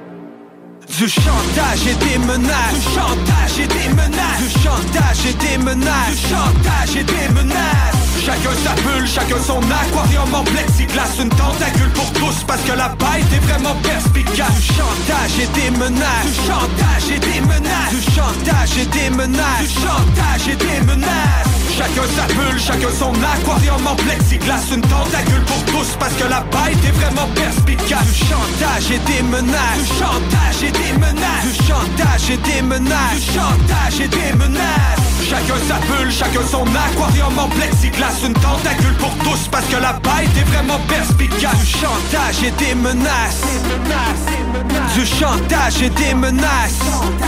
Du chantage et des menaces. Du chantage et des menaces. Du chantage et des menaces. Du chantage et des menaces. Chacun sa bulle, chacun son aquarium en plexiglas. Une tentacule pour tous parce que la bête est vraiment perspicace. Du chantage et des menaces. Du chantage et des menaces. Du chantage et des menaces. Du chantage et des menaces. Chacun sa bulle, chacun son aquarium en plexiglas. Une tentacule pour tous parce que la bête est vraiment perspicace. Du chantage et des menaces. Du chantage et des menaces. Du chantage et des menaces. Du chantage et des menaces. Chacun sa bulle, chacun son aquarium en plexiglas. Une tentacule pour tous parce que la bête est vraiment perspicace. Du chantage et des menaces. Du chantage et des menaces.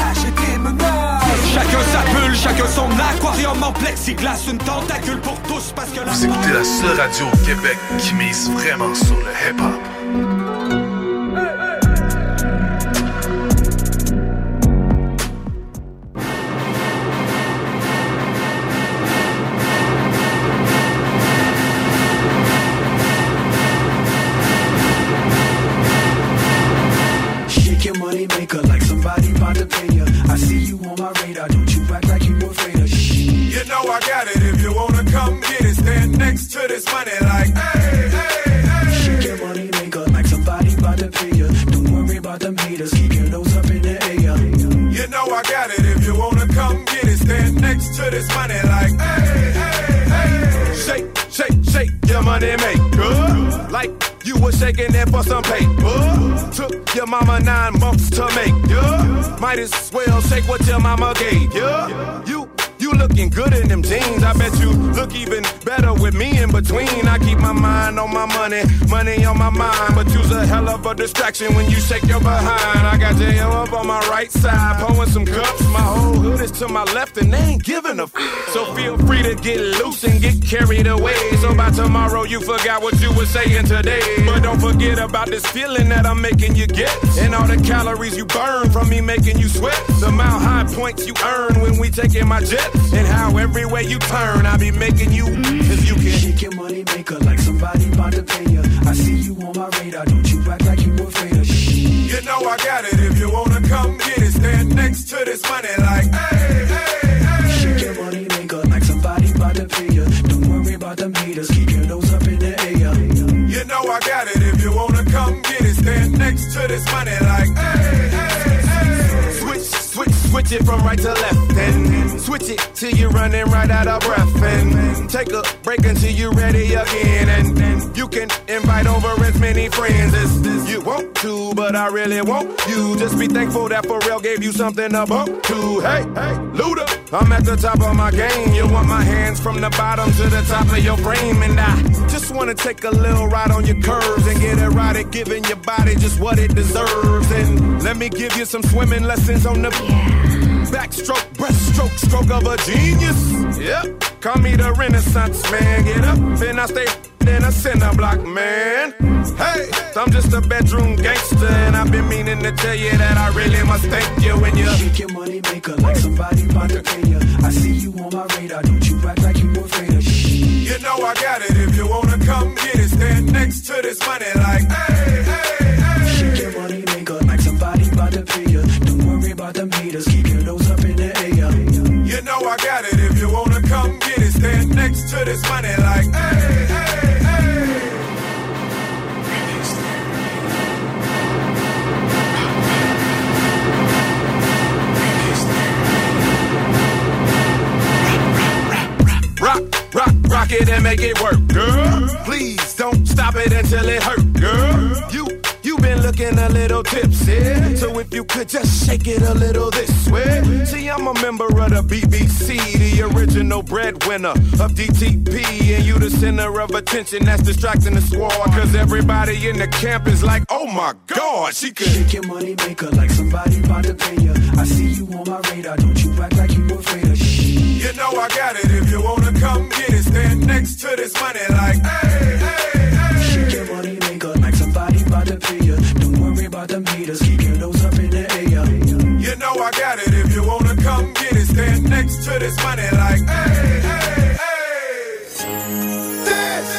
Chacun sa bulle, chacun son aquarium en plexiglas. Une tentacule pour tous parce que la Vous écoutez la seule radio au Québec qui mise vraiment sur le hip-hop. Money maker like somebody about to pay you. I see you on my radar, don't you act like you afraid of shh. You know I got it, if you wanna come get it, stand next to this money like hey, hey, hey. Shake your money maker like somebody about to pay you. Don't worry about them haters, keep your nose up in the air. You know I got it, if you wanna come get it, stand next to this money like hey, hey, hey. Shake, shake, shake your money maker like you was shaking it for some paper. Took your mama nine months to make, yeah. Might as well shake what your mama gave, yeah. You, you looking good in them jeans. I bet you look even better with me in between. I keep my mind on my money, money on my mind. But you's a hell of a distraction when you shake your behind. I got J M up on my right side, pouring some cups. My whole hood is to my left and they ain't giving a f. So feel free to get loose and get carried away. So by tomorrow you forgot what you were saying today. But don't forget about this feeling that I'm making you get. And all the calories you burn from me making you sweat. The mile high points you earn when we taking my jet. And how every way you turn I be making you. If you can shake your money maker like somebody about to pay you. I see you on my radar, don't you act like you afraid of shh. You know I got it, if you wanna come get it, stand next to this money like hey, hey, hey. Shake your money maker like somebody about to pay you. Don't worry about them haters, keep your nose up in the air. You know I got it, if you wanna come get it, stand next to this money like hey, hey, hey. Switch, switch, switch it from right to left and switch it till you're running right out of breath and take a break until you're ready again and then you can invite over as many friends as you want to, but I really want you. Just be thankful that Pharrell gave you something to bump to. Hey, hey, Luda, I'm at the top of my game. You want my hands from the bottom to the top of your frame, and I just wanna take a little ride on your curves and get it right at giving your body just what it deserves. And let me give you some swimming lessons on the backstroke, breaststroke, stroke of a genius. Yep, call me the Renaissance man. Get up and I stay in a cinder block, man. Hey, I'm just a bedroom gangster, and I've been meaning to tell you that I really must thank you when you shake your money maker like somebody about to pay you. I see you on my radar, don't you act like you afraid of shh. You know I got it, if you wanna come get it, stand next to this money like hey, hey, hey. Shake your money maker like somebody about to pay you. Don't worry about them haters, keep your nose up in the air. You know I got it, if you wanna come get it, stand next to this money like hey, hey, hey. Rock, rock, rock it and make it work, girl. Please don't stop it until it hurt, girl. You, you been looking a little tipsy, so if you could just shake it a little this way. See, I'm a member of the B B C, the original breadwinner of D T P, and you the center of attention that's distracting the squad. Cause everybody in the camp is like, oh my God, she could shake your money maker like somebody about to pay you. I see you on my radar, don't you act like you afraid of shh. You know I got it, if you wanna come get it, stand next to this money like hey, hey, hey. Shake your money maker like somebody about to pay you. Don't worry about them haters, keep your nose up in the air. You know I got it, if you wanna come get it, stand next to this money like hey, hey, hey. This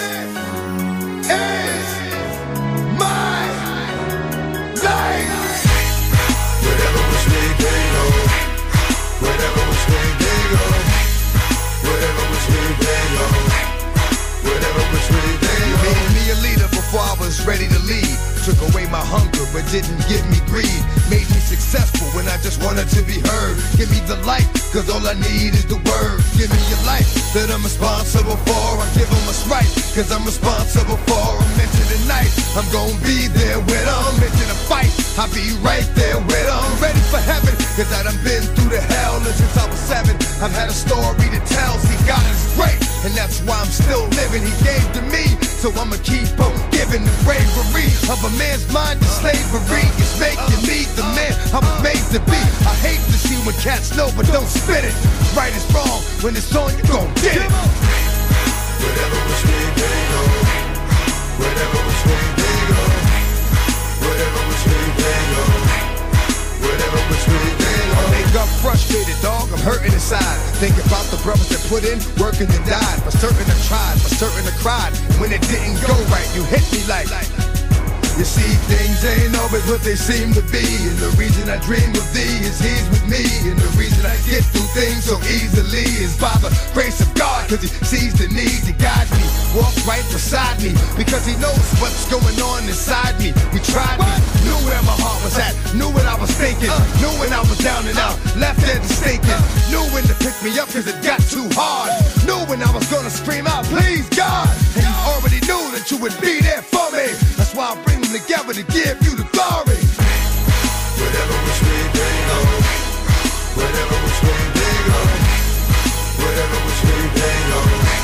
is my life. Whatever which way they go, whatever which way they go, whatever which way they go, whatever which way they go. You made me a leader before I was ready to lead. Took away my hunger, but didn't give me greed. Made me successful when I just wanted to be heard. Give me the light, cause all I need is the word. Give me your life that I'm responsible for. I give them what's right, cause I'm responsible for them. Into the night, I'm gonna be there with them. Into the fight, I'll be right there with them. Ready for heaven, cause I done been through the hell. And since I was seven, I've had a story to tell. See, God is great, and that's why I'm still living. He gave to me, so I'ma keep on giving. The bravery of a man's mind to slavery is making me the man I was made to be. I hate to see when cats know but don't spit it. Right is wrong, when it's on you gon' get it. Whatever which way they go, whatever which way they go, whatever which way they go, whatever which way they go. I wake up frustrated, dog, I'm hurting inside. Think about the brothers that put in work and then died. For certain I tried, for certain I cried. When it didn't go right, you hit me like. You see, things ain't always what they seem to be. And the reason I dream of thee is he's with me. And the reason I get through things so easily is by the grace of God. Cause he sees the need to guide me. Walk right beside me because he knows what's going on inside me. He tried me, knew where my heart was at, knew what I was thinking, knew when I was down and out, left there to stinking, knew when to pick me up cause it got too hard, knew when I was gonna scream out, please God. And you already knew that you would be there for me. That's why I bring them together to give you the glory. Whatever which way they go, whatever which way they go, whatever which way they go,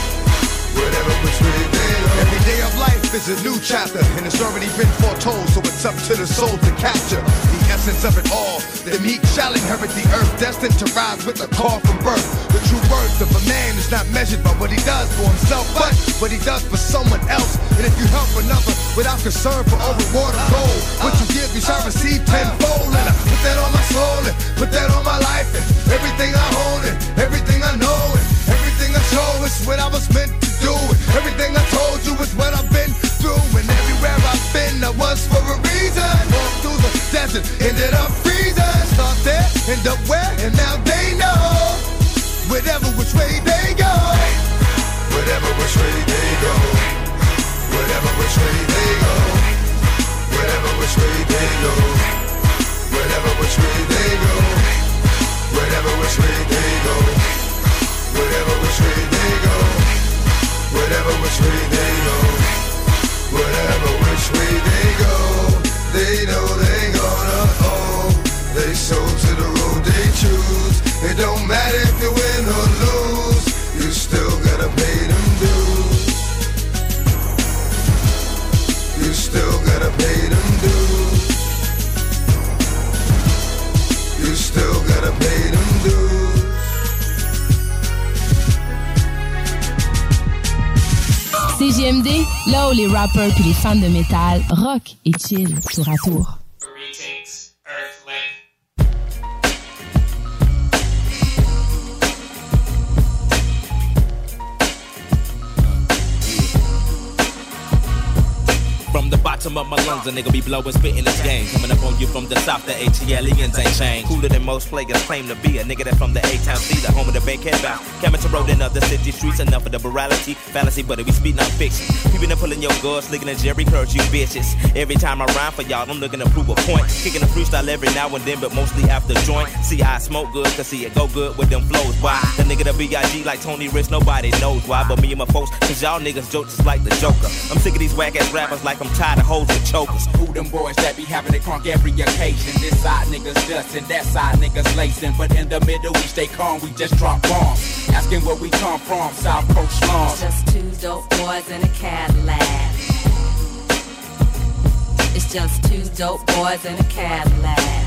whatever which way they go. Every day of life is a new chapter, and it's already been foretold, so it's up to the soul to capture the essence of it all. The meek shall inherit the earth, destined to rise with a call from birth. The true worth of a man is not measured by what he does for himself, but what he does for someone else. And if you help another without concern for all reward or gold, what you give you shall receive tenfold. And I put that on my soul and put that on my life, and everything I own and everything I know and everything I show is what I was meant to do. And everything I told you is what I've been through. And everywhere I've been, I was for a reason. Walked through the desert, ended up freezing. Start there, end up where, and now they know. Whatever which way they go, whatever which way they go, whatever which way they go, whatever which way they go, whatever which way they go, whatever which way they go, whatever which way they go, whatever which way they go, whatever which way they go, they know they gonna owe. They sold to the road they choose. It don't matter if you win or lose, you still gotta pay them dues. You still gotta pay them dues. You still gotta pay them dues. C J M D, là où les rappers puis les fans de métal rock et chill tour à tour. From the bottom of my lungs, a nigga be blowing, spitting this game. Coming up on you from the south, the ATLians ain't changed. Cooler than most players claim to be. A nigga that from the A-Town C, the home of the bankhead bound. Coming to road in other city streets, enough of the morality. Fallacy, but we speak non fiction. People that pulling your guards, licking a Jerry Curls, you bitches. Every time I rhyme for y'all, I'm looking to prove a point. Kicking a freestyle every now and then, but mostly after joint. See, I smoke good, cause see it go good with them flows. Why? The nigga that B I G like Tony Rich, nobody knows why. But me and my folks, cause y'all niggas joke just like the Joker. I'm sick of these whack ass rappers like I'm tired of hoes with chokers. Who them boys that be having it crunk every occasion? This side niggas dustin', that side niggas lacing. But in the middle we stay calm, we just drop bombs. Asking where we come from, South Coast slums. Just two dope boys in a Cadillac. It's just two dope boys in a Cadillac.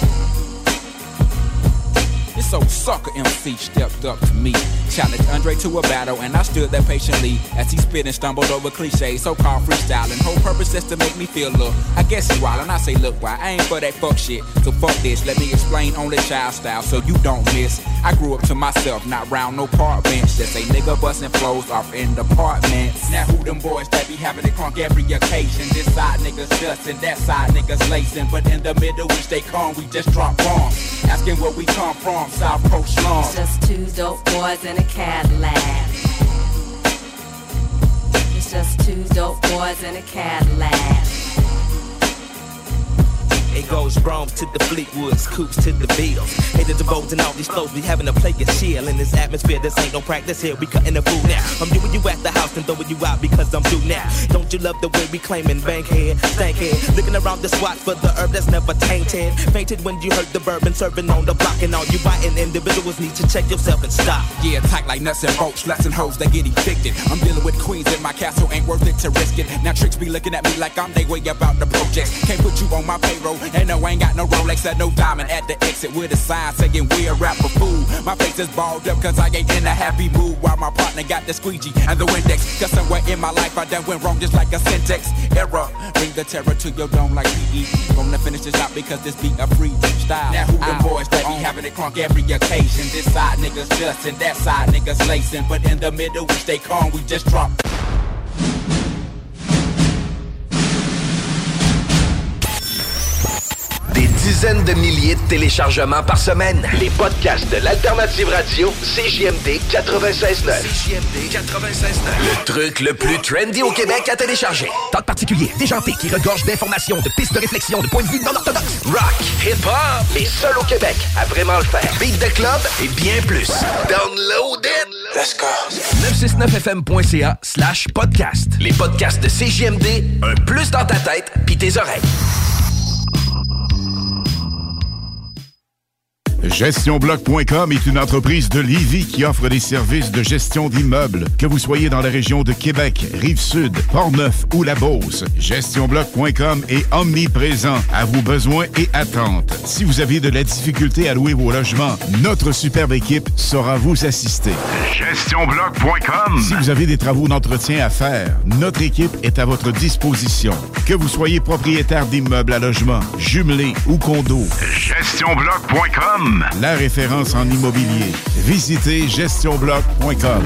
This old sucker M C stepped up to me, challenged Andre to a battle, and I stood there patiently as he spit and stumbled over cliches, so-called freestyling. Whole purpose is to make me feel look. I guess he wild, and I say, look, why I ain't for that fuck shit. So fuck this, let me explain only child style so you don't miss. I grew up to myself, not round no park bench. Just a nigga bustin' flows off in the apartments. Now who them boys that be having it crunk every occasion? This side niggas dustin', that side niggas lacing. But in the middle we stay calm, we just drop bombs. Asking where we come from, South Coast slums. It's just two dope boys in a Cadillac. It's just two dope boys in a Cadillac. It goes Rome to the Fleetwoods, Coops to the Bills. Haters and bows and all these flows, we having a play a chill in this atmosphere. This ain't no practice here, we cutting the food now. I'm doing you at the house and throwing you out because I'm due now. Don't you love the way we claiming bankhead, stankhead? Looking around the swat for the herb that's never tainted. Fainted when you heard the bourbon serving on the block, and all you biting individuals need to check yourself and stop. Yeah, tight like nuts and bolts, sluts and hoes that get evicted. I'm dealing with queens in my castle, ain't worth it to risk it. Now tricks be looking at me like I'm they way about the project. Can't put you on my payroll, and no, I ain't got no Rolex and no diamond at the exit with a sign saying we're a rapper fool. My face is balled up cause I ain't in a happy mood, while my partner got the squeegee and the Windex. Cause somewhere in my life I done went wrong just like a syntax error. Bring the terror to your dome like P E. Gonna finish this out because this beat a free style. Now who the boys that be having it crunk every occasion? This side niggas just and that side niggas lacing, but in the middle we stay calm, we just drop. Des dizaines de milliers de téléchargements par semaine. Les podcasts de l'Alternative Radio, C J M D quatre-vingt-seize neuf. C J M D quatre-vingt-seize neuf. Le truc le plus trendy au Québec à télécharger. Talk particulier, déjanté, qui regorge d'informations, de pistes de réflexion, de points de vue non orthodoxes. Rock, hip-hop, les seuls au Québec à vraiment le faire. Beat de club et bien plus. Download it! Let's go! neuf cent soixante-neuf F M point C A slash podcast. Les podcasts de C J M D, un plus dans ta tête pis tes oreilles. gestion bloc point com est une entreprise de Lévis qui offre des services de gestion d'immeubles. Que vous soyez dans la région de Québec, Rive-Sud, Port-Neuf ou La Beauce, gestion bloc point com est omniprésent à vos besoins et attentes. Si vous avez de la difficulté à louer vos logements, notre superbe équipe saura vous assister. gestion bloc point com. Si vous avez des travaux d'entretien à faire, notre équipe est à votre disposition. Que vous soyez propriétaire d'immeubles à logement, jumelés ou condos, gestion bloc point com. La référence en immobilier. Visitez gestion bloc point com.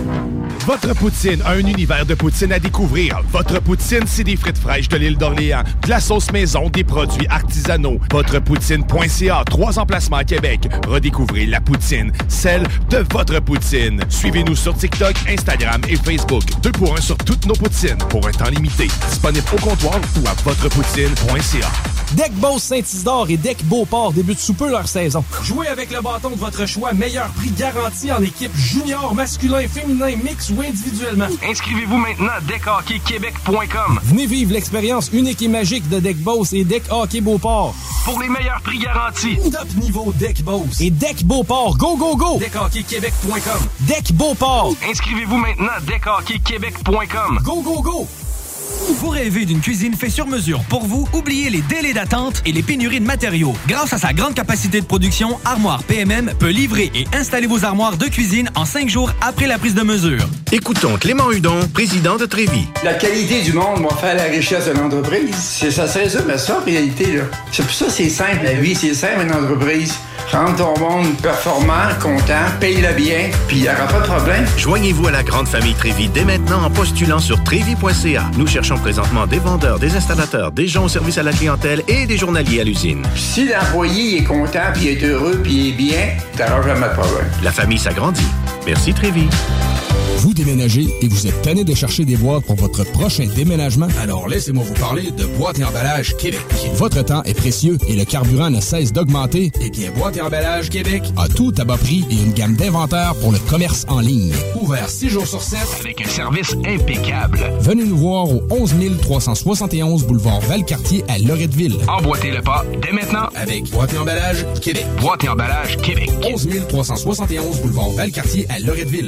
Votre poutine a un univers de poutine à découvrir. Votre poutine, c'est des frites fraîches de l'île d'Orléans, de la sauce maison, des produits artisanaux. Votrepoutine point C A, trois emplacements à Québec. Redécouvrez la poutine, celle de votre poutine. Suivez-nous sur TikTok, Instagram et Facebook. Deux pour un sur toutes nos poutines, pour un temps limité. Disponible au comptoir ou à votrepoutine point C A. Deck Boss Saint-Isidore et Deck Beauport débutent sous peu leur saison. Jouez avec le bâton de votre choix, meilleur prix garanti en équipe junior, masculin, féminin, mix ou individuellement. Inscrivez-vous maintenant à deck hockey québec point com. Venez vivre l'expérience unique et magique de Deck Boss et Deck Hockey Beauport. Pour les meilleurs prix garantis. Top niveau Deck Boss et Deck Beauport. Go, go, go! deck hockey québec point com. Deck Beauport. Inscrivez-vous maintenant à deck hockey québec point com. Go, go, go! Vous rêvez d'une cuisine faite sur mesure pour vous? Oubliez les délais d'attente et les pénuries de matériaux. Grâce à sa grande capacité de production, Armoire P M M peut livrer et installer vos armoires de cuisine en cinq jours après la prise de mesure. Écoutons Clément Hudon, président de Trévis. La qualité du monde va faire la richesse de l'entreprise. C'est ça, c'est ça, mais ça, en réalité, là. C'est pour ça que c'est simple, la vie, c'est simple, une entreprise. Rendre ton monde performant, content, paye-le bien, puis il n'y aura pas de problème. Joignez-vous à la grande famille Trévis dès maintenant en postulant sur trévis point c a. Nous cherchons présentement des vendeurs, des installateurs, des gens au service à la clientèle et des journaliers à l'usine. Si l'employé est content, puis est heureux, puis est bien, t'auras jamais de problème. La famille s'agrandit. Merci Trévis. Vous déménagez et vous êtes tanné de chercher des boîtes pour votre prochain déménagement? Alors laissez-moi vous parler de Boîte et Emballage Québec. Votre temps est précieux et le carburant ne cesse d'augmenter. Eh bien, Boîte et Emballage Québec a tout à bas prix et une gamme d'inventaires pour le commerce en ligne. Ouvert six jours sur sept avec un service impeccable. Venez nous voir au onze mille trois cent soixante et onze boulevard Valcartier à Loretteville. Emboîtez le pas dès maintenant avec Boîte et Emballage Québec. Boîte et Emballage Québec. onze mille trois cent soixante et onze boulevard Valcartier à Loretteville.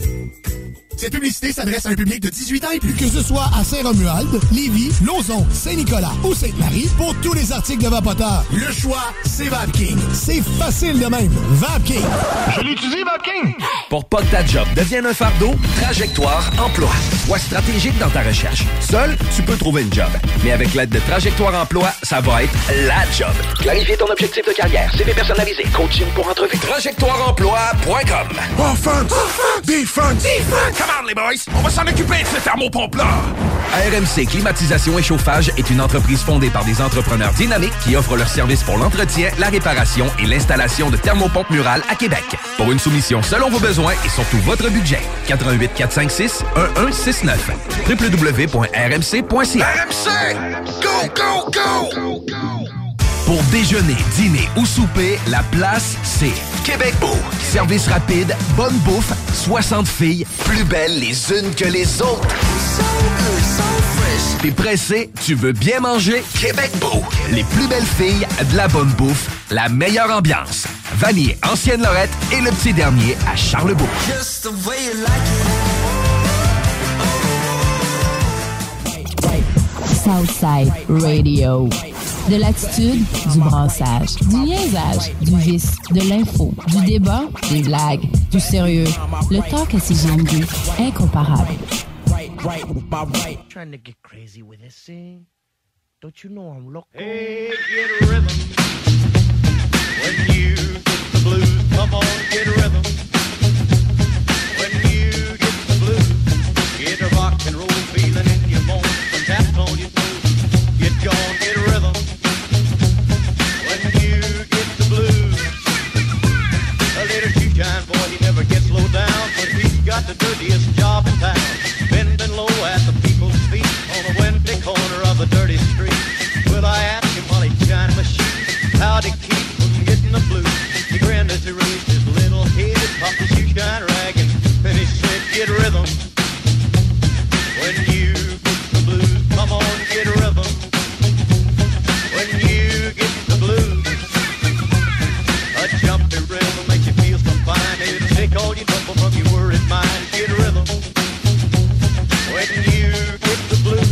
Cette publicité s'adresse à un public de dix-huit ans et plus. Que ce soit à Saint-Romuald, Lévis, Lauson, Saint-Nicolas ou Sainte-Marie, pour tous les articles de Vapoteur, le choix, c'est VapKing. C'est facile de même. VapKing. Je l'utilise, VapKing. Pour pas que ta job devienne un fardeau, Trajectoire Emploi. Sois stratégique dans ta recherche. Seul, tu peux trouver une job. Mais avec l'aide de Trajectoire Emploi, ça va être la job. Clarifier ton objectif de carrière, C V personnalisé, coaching pour entrevue. trajectoire emploi point com. Offense! Offense! Defense! Defense! Come on, les boys! On va s'en occuper de ce thermopompe-là! R M C Climatisation et Chauffage est une entreprise fondée par des entrepreneurs dynamiques qui offrent leurs services pour l'entretien, la réparation et l'installation de thermopompes murales à Québec. Pour une soumission selon vos besoins et surtout votre budget, quatre un huit quatre cinq six un un six neuf. w w w point r m c point c a. R M C! Go, go, go! Pour déjeuner, dîner ou souper, la place, c'est Québec Beau. Service rapide, bonne bouffe, soixante filles, plus belles les unes que les autres. T'es pressé, tu veux bien manger? Québec Beau. Les plus belles filles, de la bonne bouffe, la meilleure ambiance. Vanier, Ancienne-Lorette et le petit dernier à Charlebourg. Southside Radio. De l'attitude, du brassage, du niaisage, du vice, de l'info, du débat, des blagues, du sérieux. Le talk à C G M D, incomparable. Trying to get crazy with this thing. Don't you know I'm local? Hey, get a rhythm. When you get the blues, come on, get a rhythm. When you get the blues, get a rock and roll feeling in your bones. Some taps on your toes, get gone, get a rhythm. When you get the blues, a little shoe-shine boy, he never gets low down, but he's got the dirtiest job in town. Bending low at the people's feet on a windy corner of a dirty street. Will I ask him while he's shining my shoes how to keep from getting the blues? He grinned as he raised his little head, popped his shoe-shine rag, and then he said, get rhythm. When you get the blues, come on, get rhythm. When you get the blues, a jumpy rhythm makes you feel so fine. It'll take all your trouble from your worried mind. Get rhythm. When you get the blues.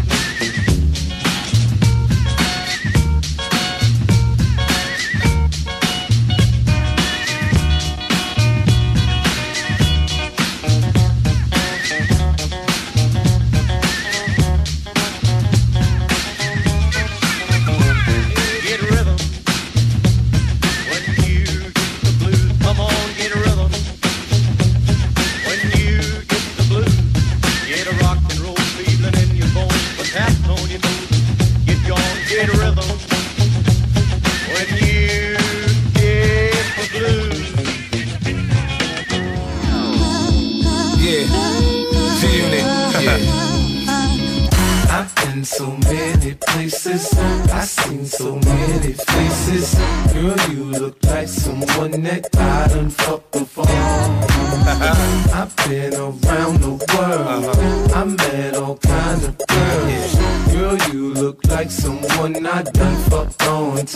So many places, I've seen so many faces. Girl, you look like someone that I done fucked before. I've been around the world, I met all kinds of girls. Girl, you look like someone I done fucked on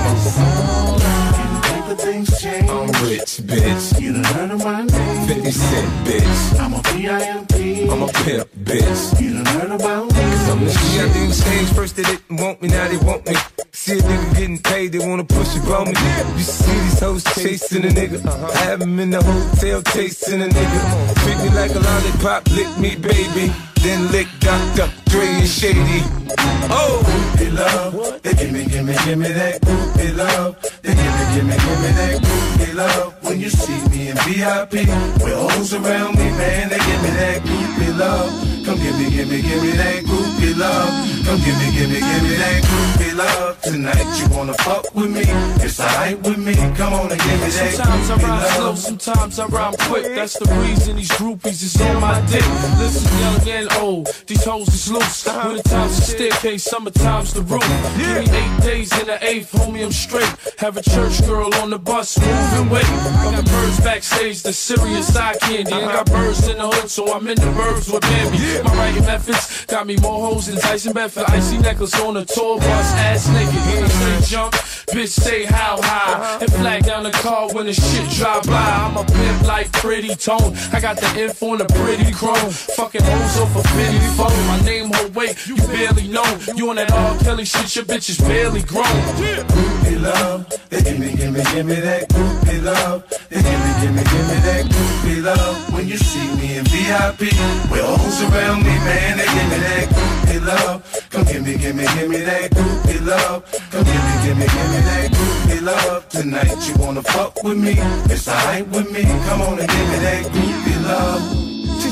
tour. Things change. I'm rich, bitch. You done heard of my name. fifty cent, bitch. I'm a P I M P. I'm a pimp, bitch. You done heard about me. Cause I'm the shit. I didn't change. First they didn't want me, now they want me. See a nigga getting paid, they wanna push it on me. You see these hoes chasing a nigga. I have them in the hotel chasing a nigga. Treat me like a lollipop, lick me, baby. Then lick Doctor Dre and Shady. Oh, groupie love. They give me, give me, give me that groupie love. They give me, give me, give me that groupie love. When you see me in V I P, with hoes around me, man, they give me that groupie love. Come give me, give me, give me that groupie love. Come give me, give me, give me that groupie love. Tonight you wanna fuck with me? It's alright with me. Come on and give me that sometimes groupie I rhyme slow, love. sometimes I rhyme quick. That's the reason these groupies is on my dick. Listen, young and old, these hoes is loose. Winter time's the staircase, summer time's the roof. Give me eight days in the eighth, homie, I'm straight. Have a church girl on the bus, move and wait. I got birds backstage, the serious eye candy. Ain't got birds in the hood, so I'm in the burbs with Bambi. My writing methods got me more hoes than Tyson Bedford. Icy necklace on a tour bus, ass naked. Niggas say jump, bitch say how high. And flag down the car when the shit drive by. I'm a pimp like Pretty Tone. I got the info on the pretty chrome. Fucking hoes off a fifty phone. My name, her weight, you barely know. You on that R. Kelly shit, your bitch is barely grown. Groupie love, they give me, give me, give me that groupie love. They give me, give me, give me that groupie love. When you see me in V I P, with hoes around me, man, they give me that groupie love. Come give me, give me, give me that groupie love. Come give me, give me, give me that groupie love. Tonight you wanna fuck with me? It's alright with me. Come on and give me that groupie love.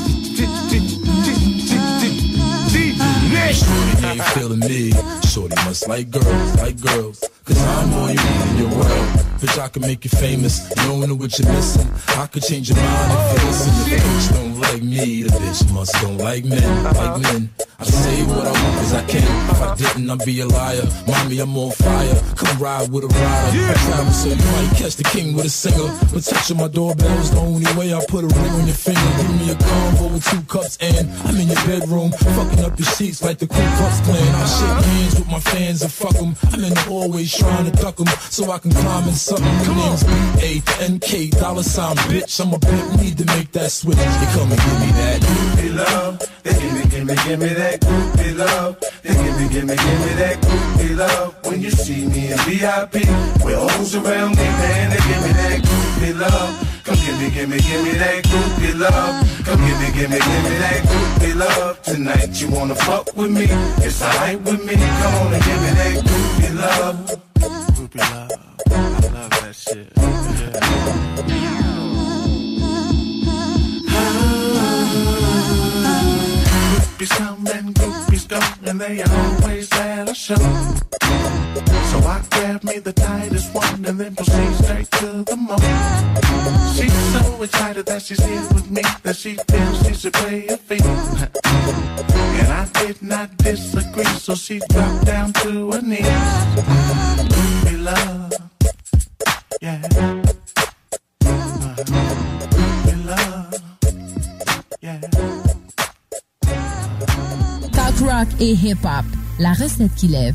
Shorty ain't feeling me. Shorty must like girls, like girls. Cause I'm all you need in your world. Bitch, I can make you famous. You don't know what you're missing. I could change your mind if you listen. If the bitch don't like me, the bitch must don't like men. Like men. I say what I want cause I can. If I I didn't, I'd be a liar. Mommy, I'm on fire. Come ride with a rider. I travel so you might catch the king with a singer. But touching my doorbell's the only way I put a ring on your finger. Give me a convo with two cups and I'm in your bedroom, fucking up your sheets like the Ku Klux Klan. I shake hands with my fans and fuck them. I'm in the hallways trying to duck them so I can climb in something. My name's B A N K, dollar sign bitch. I'm a bitch, need to make that switch. You come and give me that groupie love. They give me, give me, give me that groupie love. They give me, give me, give me that groupie love. When you see me in V I P, with O's around me, man, they give me that groupie love. Come give me, give me, give me that groupie love. Come give me, give me, give me that groupie love. Tonight you wanna fuck with me? It's alright with me. Come on and give me that groupie love. Groupie love, I love that shit. Yeah. Groupies come and groupies go, and they always at a show. So I grab me the tightest one and then proceed straight to the moon. She's so excited that she's here with me that she feels she should play a field. And I did not disagree, so she dropped down to her knees. Groupie love, yeah. Groupie love, yeah. Talk rock et hip-hop, la recette qui lève.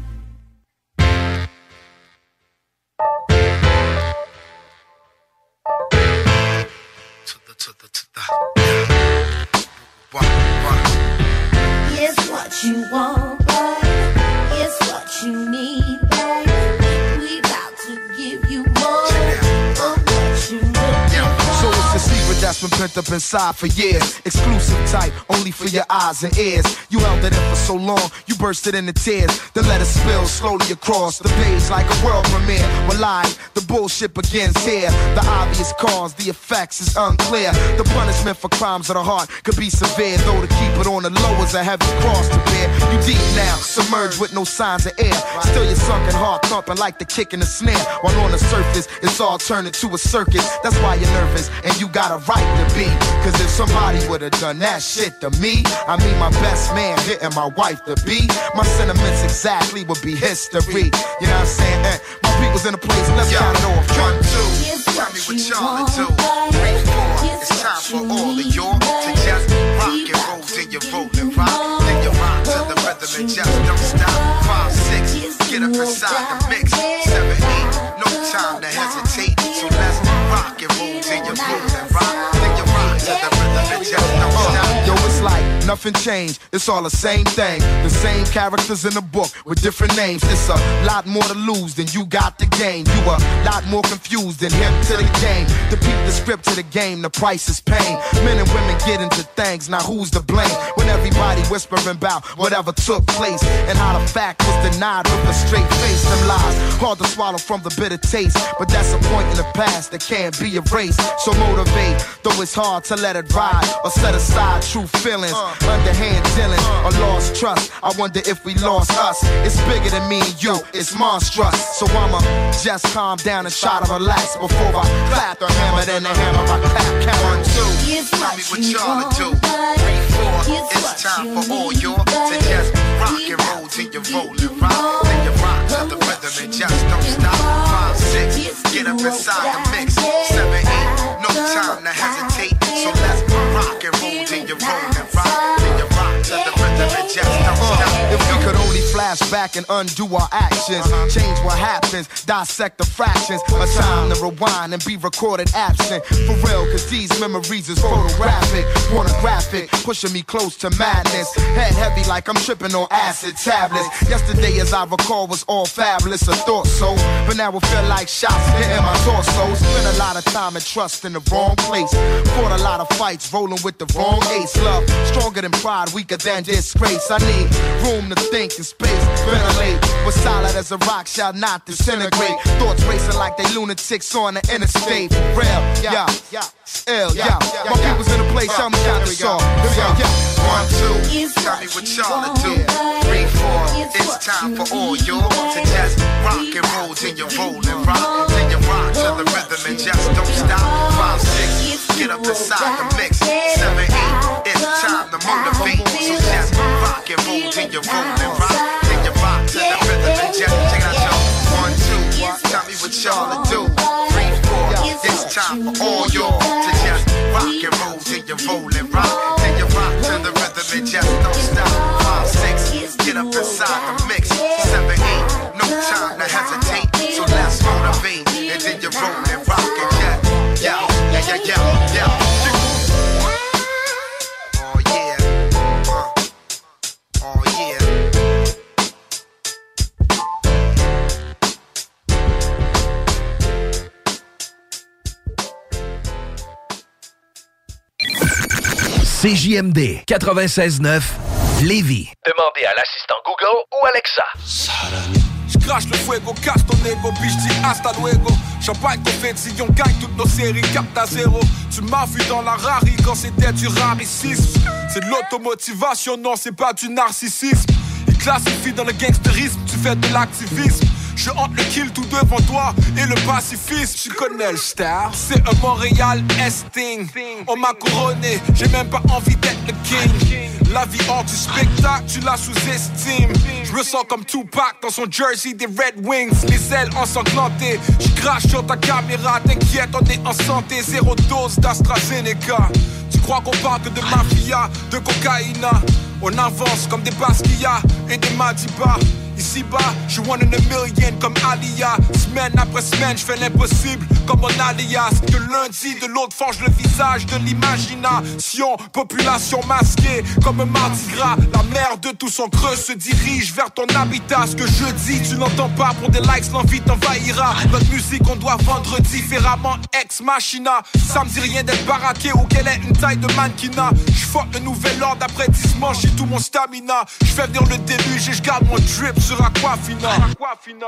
It's what you want, babe. It's what you need, babe. We about to give you more of what you need. So it's a secret that's been pent up inside for years. Exclusive type, only for your eyes and ears. You held it in for so long, you bursted into tears. Then let it spill slowly across the page like a world premiere. Well, live, the bullshit begins here. The obvious cause, the effects is unclear. The punishment for crimes of the heart could be severe, though to keep it on the low is a heavy cross to bear. You deep now, submerged with no signs of air. Still your sunken heart thumping like the kick in the snare. While on the surface, it's all turned into a circus. That's why you're nervous, and you got a right to be. Cause if somebody would've done that shit to me, I mean my best man hitting my wife to be, my sentiments exactly would be history. You know what I'm saying? Eh, my people's in the place, let's Yo, count it off. One, two, tell me what y'all do. Three, four, it's time for all of y'all to just rock and roll till you roll and rock. Then you rock to the rhythm and just don't stop. Five, six, get up inside the mix. Seven, eight, no time to hesitate. So let's rock and roll till you roll and rock. Then you rock to the rhythm and just don't stop. Yo, it's like nothing changed, it's all the same thing. The same characters in the book with different names. It's a lot more to lose than you got to gain. You a lot more confused than hip to the game. To peep the script to the game, the price is pain. Men and women get into things, now who's to blame? When everybody whispering about whatever took place and how the fact was denied with a straight face. Them lies, hard to swallow from the bitter taste, but that's a point in the past that can't be erased. So motivate, though it's hard to let it ride or set aside true feelings. Underhand dealing or lost trust. I wonder if we lost us. It's bigger than me and you, it's monstrous. So I'ma just calm down and try to relax before I clap the hammer, then the hammer I clap. Count one, two. Tell me what y'all do. Three, four. It's time for all y'all to just rock and roll till you roll and rock. Then you rock to the rhythm and just don't stop. Five, six. Get up inside the mix. Seven, eight. No time to hesitate. So let's rock and roll till you roll and rock. Then you rock to the rhythm and just don't stop. If we could only flash back and undo our actions, change what happens, dissect the fractions. A time to rewind and be recorded absent. For real, cause these memories is photographic, pornographic, pushing me close to madness. Head heavy like I'm tripping on acid tablets. Yesterday, as I recall, was all fabulous, I thought so. But now it feel like shots hitting my torso. Spent a lot of time and trust in the wrong place. Fought a lot of fights, rolling with the wrong ace. Love, stronger than pride, weaker than disgrace. I need room to think and space to ventilate. But solid as a rock shall not disintegrate. Thoughts racing like they lunatics on the interstate. Real, yeah, yeah, ill, yeah. My people's in the place, tell me how to solve. One, two, tell me what y'all to do. Three, four, it's time for all y'all to just rock and roll till you roll and rock. Then you rock to the rhythm and just don't stop. Five, six, get up inside the mix. Seven, eight, it's time to motivate. So just rock and roll till you roll and rock. you roll and rock, then you rock to the rhythm and just don't stop. Five, six, get up inside the mix. Seven, eight, no time to hesitate. So let's motivate, and then you roll and rock and jet. Yo, yeah, yeah, yeah, yeah. Oh yeah, uh, oh yeah. C J M D quatre-vingt-seize neuf Lévis. Demandez à l'assistant Google ou Alexa. J'crache le fuego, casse ton ego, puis j'dis hasta luego. Champagne, confetti, on gagne toutes nos séries, capte à zéro. Tu m'as vu dans la rari quand c'était du raricisme. C'est de l'automotivation, non, c'est pas du narcissisme. Il classifie dans le gangsterisme, tu fais de l'activisme. Je hante le kill tout devant toi et le pacifisme. Tu connais le star, c'est un Montréal Esting. On m'a couronné, j'ai même pas envie d'être le king. La vie hors du spectacle, tu la sous-estimes. Je me sens comme Tupac dans son jersey des Red Wings. Les ailes ensanglantées, je crache sur ta caméra. T'inquiète, on est en santé, zéro dose d'AstraZeneca. Tu crois qu'on parle que de mafia, de cocaïna? On avance comme des Basquiat et des Madiba. Ici-bas, je one in a million comme Alia. Semaine après semaine, je fais l'impossible comme mon alias. Que lundi, de l'autre forge le visage de l'imagination. Population masquée comme un mardi gras. La mer de tout son creux se dirige vers ton habitat. Ce que je dis, tu n'entends pas, pour des likes, l'envie t'envahira. Notre musique, on doit vendre différemment, ex machina. Ça me dit rien d'être baraqué ou qu'elle ait une taille de mannequinat. Je fuck le nouvel ordre après dix manches, j'ai tout mon stamina. Je fais venir le déluge et je garde mon drip sur Aquafina. Aquafina.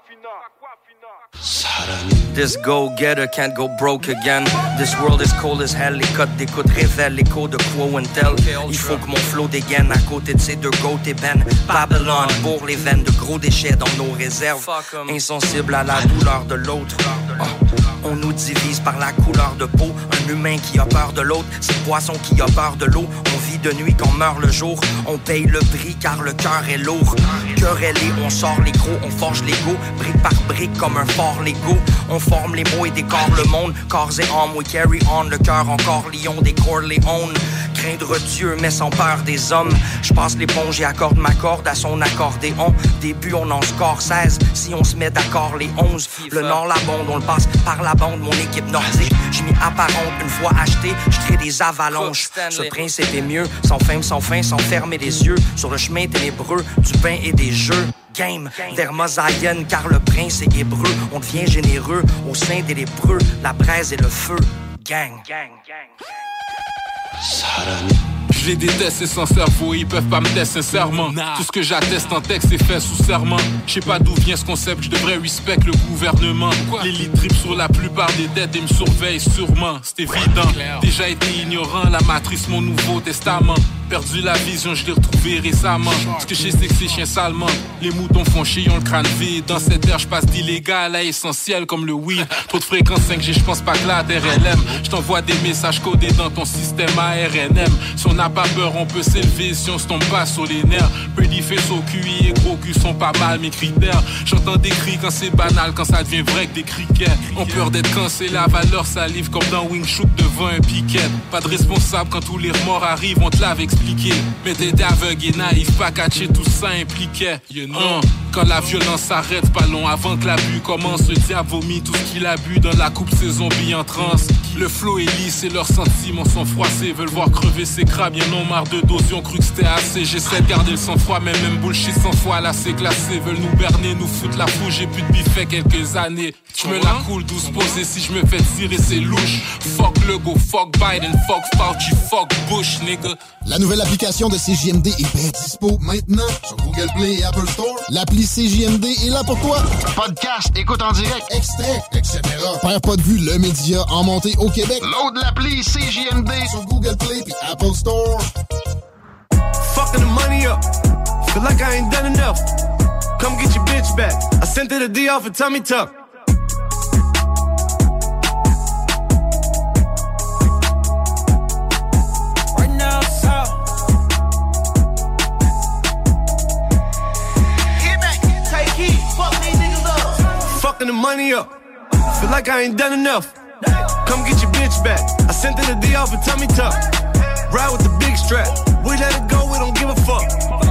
This go-getter can't go broke again. This world is cold as hell. Les codes d'écoute révèlent l'écho de Quo and Tell. Il faut que mon flow dégaine à côté de ces deux goats et Ben. Babylon pour les veines de gros déchets dans nos réserves. Insensible à la douleur de l'autre. Oh. On nous divise par la couleur de peau. Un humain qui a peur de l'autre, c'est le poisson qui a peur de l'eau. On vit de nuit qu'on meurt le jour. On paye le prix car le cœur est lourd. Querellé, on sort les gros, on forge l'ego. Brique par brique comme un fort Lego. On forme les mots et décore le monde. Corps et âme, we carry on. Le cœur encore lion des Corleone. Craindre Dieu mais sans peur des hommes. Je passe l'éponge et accorde ma corde à son accordéon. Début on en score seize. Si on se met d'accord les onze. Le nord la bonde, on le passe par la bande. Mon équipe nordique, j'ai mis apparente. Une fois acheté, je crée des avalanches. Ce principe est mieux, sans fin, sans fin, sans fermer les yeux. Sur le chemin ténébreux, du pain et des jeux. Game, vers Mosaïenne, car le prince est hébreu. On devient généreux au sein des lépreux. La braise et le feu, gang. gang, gang. Je les déteste, c'est sans cerveau, ils peuvent pas me tester sincèrement. Tout ce que j'atteste en texte est fait sous serment. Je sais pas d'où vient ce concept, je devrais respect le gouvernement. L'élite drip sur la plupart des dettes et me surveille sûrement. C'est évident, déjà été ignorant, la matrice mon nouveau testament. Perdu la vision, je l'ai retrouvé récemment. Ce que je sais c'est que c'est chien salement. Les moutons font chier, ont le crâne vide. Dans cette ère, je passe d'illégal à essentiel comme le weed. Trop de fréquence cinq G, je pense pas que la R L M. Je t'envoie des messages codés dans ton système A R N M. Si on n'a pas peur, on peut s'élever si on se tombe pas sur les nerfs. Pretty face au Q I et gros cul sont pas mal mes critères. J'entends des cris quand c'est banal, quand ça devient vrai que des criquets. On peur d'être cancellé, la valeur salive comme dans Wing Chun devant un piquet. Pas de responsable quand tous les remords arrivent, on te l'avait expliqué. Mais t'étais aveugle et naïf, pas catché, tout ça impliquait. You know. uh, quand la violence s'arrête, pas long avant que l'abus commence. Le diable vomit tout ce qu'il a bu dans la coupe, ses zombies en transe. Le flow est lisse et leurs sentiments sont froissés. Veulent voir crever ses crabes, y'en ont marre de doses, ont cru que c'était assez. J'essaie de garder le sang-froid, mais même bullshit sans foi, là c'est glacé. Veulent nous berner, nous foutre la fouche, j'ai plus de biffet quelques années. J'me la coule douce posée, si je me fais tirer c'est louche. Fuck Legault, fuck Biden, fuck Fauci, fuck Bush, nigga. La nouvelle application de C J M D est bien dispo maintenant sur Google Play et Apple Store. L'appli C J M D est là pour toi. Podcast, écoute en direct, extrait, et cetera. Perd pas de vue, le média en montée au Québec. Load l'appli C J M D sur Google Play et Apple Store. Fucking the money up. Feel like I ain't done enough. Come get your bitch back. I sent her the D off a tummy tuck. Fucking the money up. Feel like I ain't done enough. Come get your bitch bitch back. I sent her the D off a tummy tuck. Ride with the big strap. We let it go, we don't give a fuck.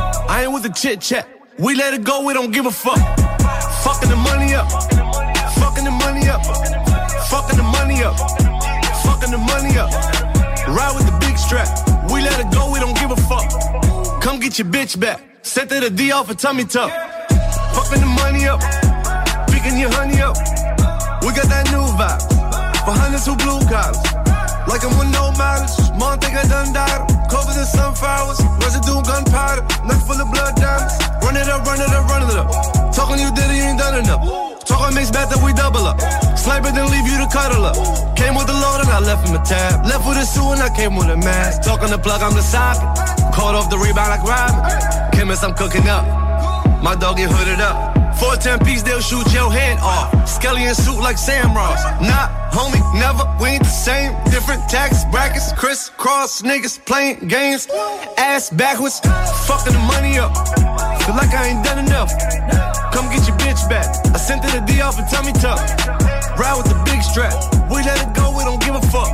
I ain't with the chit chat. We let it go, we don't give a fuck. Fucking the money up. Fucking the money up. Fucking the money up. Fucking the money up. Ride with the big strap. We let it go, we don't give a fuck. Come get your bitch back. Sent her the D off a tummy tuck. Fucking the money up. Picking your honey up. We got that new vibe. For hundreds who blue collars. Like I'm with no mileage. Mom think I done died. Covers and sunflowers. Residue gunpowder. Neck full of blood diamonds. Run it up, run it up, run it up. Talking you did it, you ain't done enough. Talking mixed bad that we double up. Sniper then leave you to cuddle up. Came with the load and I left him a tab. Left with a suit and I came with a mask. Talking the plug, I'm the socket. Caught off the rebound like Robin. Chemist, I'm cooking up. My dog get hooded up. four ten piece, they'll shoot your head off. Skelly in suit like Sam Ross. Nah, homie, never, we ain't the same. Different tax brackets, crisscross niggas playing games. Ass backwards, fucking the money up. Feel like I ain't done enough. Come get your bitch back. I sent her the D off a tummy tuck. Ride with the big strap. We let it go, we don't give a fuck.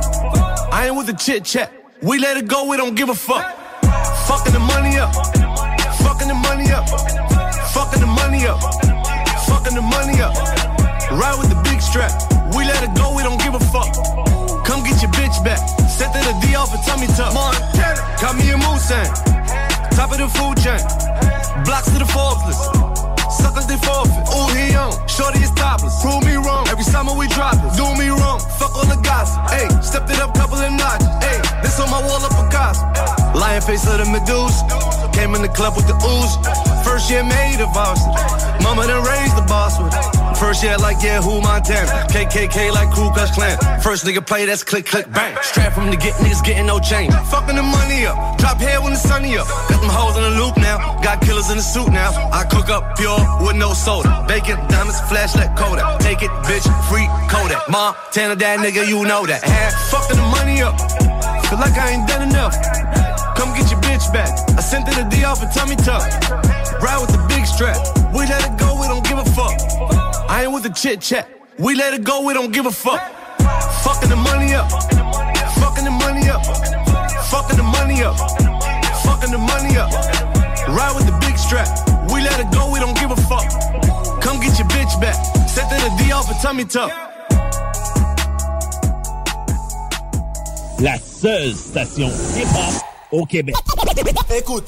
I ain't with the chit chat. We let it go, we don't give a fuck. Fucking the money up. Fucking the money up. Fucking the money up. Fucking the money up. Ride with the big strap. We let it go, we don't give a fuck. Come get your bitch back. Sent her the D off a tummy tuck. Montana. Got me a Moosang. Top of the food chain. Blocks to the Forbes list. Suckers they forfeit. Ooh, he on. Shorty is topless. Prove me wrong. Every summer we drop it. Do me wrong. Fuck all the gossip. Ayy, stepped it up, couple of notches. Ayy, this on my wall up Picasso. Lion face of the Medusa. Came in the club with the ooze. First year made a varsity. Mama done raised the boss with it. First year like, yeah, who Montana? K K K like Ku Klux Klan. First nigga play, that's click, click, bang. Strap from to get niggas getting no change. Fucking the money up. Drop hair when the sunny up. Got them hoes in the loop now. Got killers in the suit now. I cook up pure with no soda. Bacon, diamonds, flashlight, Kodak. Take it, bitch, free Kodak. Montana, that nigga, you know that. Half fucking the money up. Feel like I ain't done enough. Come get your bitch back. I sent her the D off a tummy tuck. Ride with the big strap. We let it go, we don't give a fuck. I ain't with the chit chat. We let it go, we don't give a fuck. Fucking the money up. Fucking the money up. Fucking the money up. Fucking the money up. Ride with the big strap. We let it go, we don't give a fuck. Come get your bitch back. Sent her the D off a tummy tuck. La seule station hip-hop au Québec. Écoute.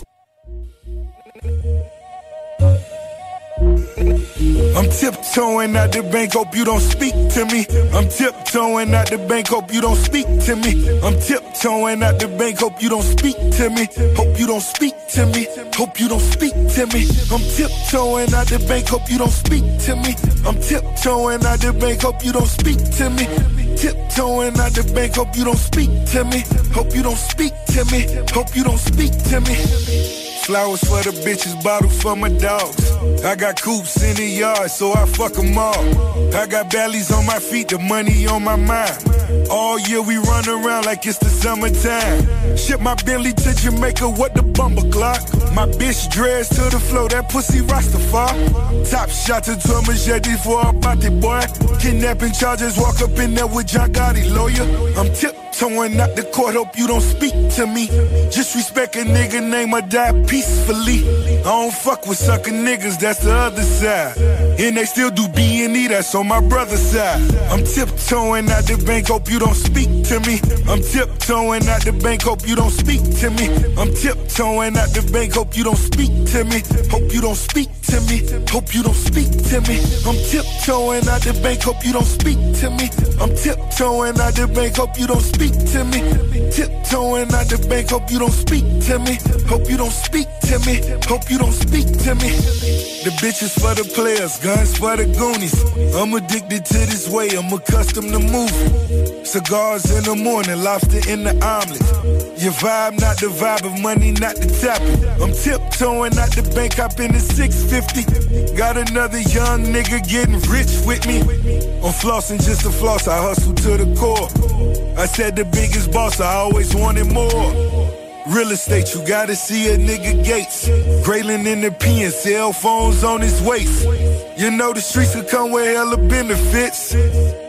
I'm tiptoeing out the bank, hope you don't speak to me. I'm tiptoeing out the bank, hope you don't speak to me. I'm tiptoeing out the bank, hope you don't speak to me. Hope you don't speak to me. Hope you don't speak to me. I'm tiptoeing out the bank, hope you don't speak to me. I'm tiptoeing out the bank, hope you don't speak to me. Tiptoeing out the bank, hope you don't speak to me. Hope you don't speak to me. Hope you don't speak to me. Flowers for the bitches, bottle for my dogs. I got coops in the yard, so I fuck them all. I got bellies on my feet, the money on my mind. All year we run around like it's the summertime. Ship my Bentley to Jamaica, what the bumper clock. My bitch dressed to the floor, that pussy Rastafari. Top shot to a machete for a body boy. Kidnapping charges, walk up in there with John Gotti, lawyer. I'm tiptoeing out the court, hope you don't speak to me. Just respect a nigga name or die peacefully. I don't fuck with sucker niggas, that's the other side. And they still do B and E, that's on my brother's side. I'm tiptoeing out the bank, hope you don't speak to me. I'm tiptoeing out the bank, hope you don't speak to me. I'm tiptoeing out the bank, hope you don't speak to me. Hope you don't speak to me. Hope you don't speak to me. I'm tiptoeing out the bank, hope you don't speak to me. I'm tiptoeing out the bank, hope you don't speak to me. Tiptoeing out the bank, hope you don't speak to me. Hope you don't speak to me. Hope you don't speak to me. The bitches for the players, guns for the goonies. I'm addicted to this way, I'm accustomed to moving. Cigars in the morning, lobster in the omelet. Your vibe not the vibe of money, not the topic. I'm tiptoeing out the bank, hop in the six fifty. Got another young nigga getting rich with me. I'm flossing just to floss, I hustle to the core. I said the biggest boss, I always wanted more. Real estate, you gotta see a nigga Gates. Graylin in the P and cell phones on his waist. You know the streets could come with hella benefits.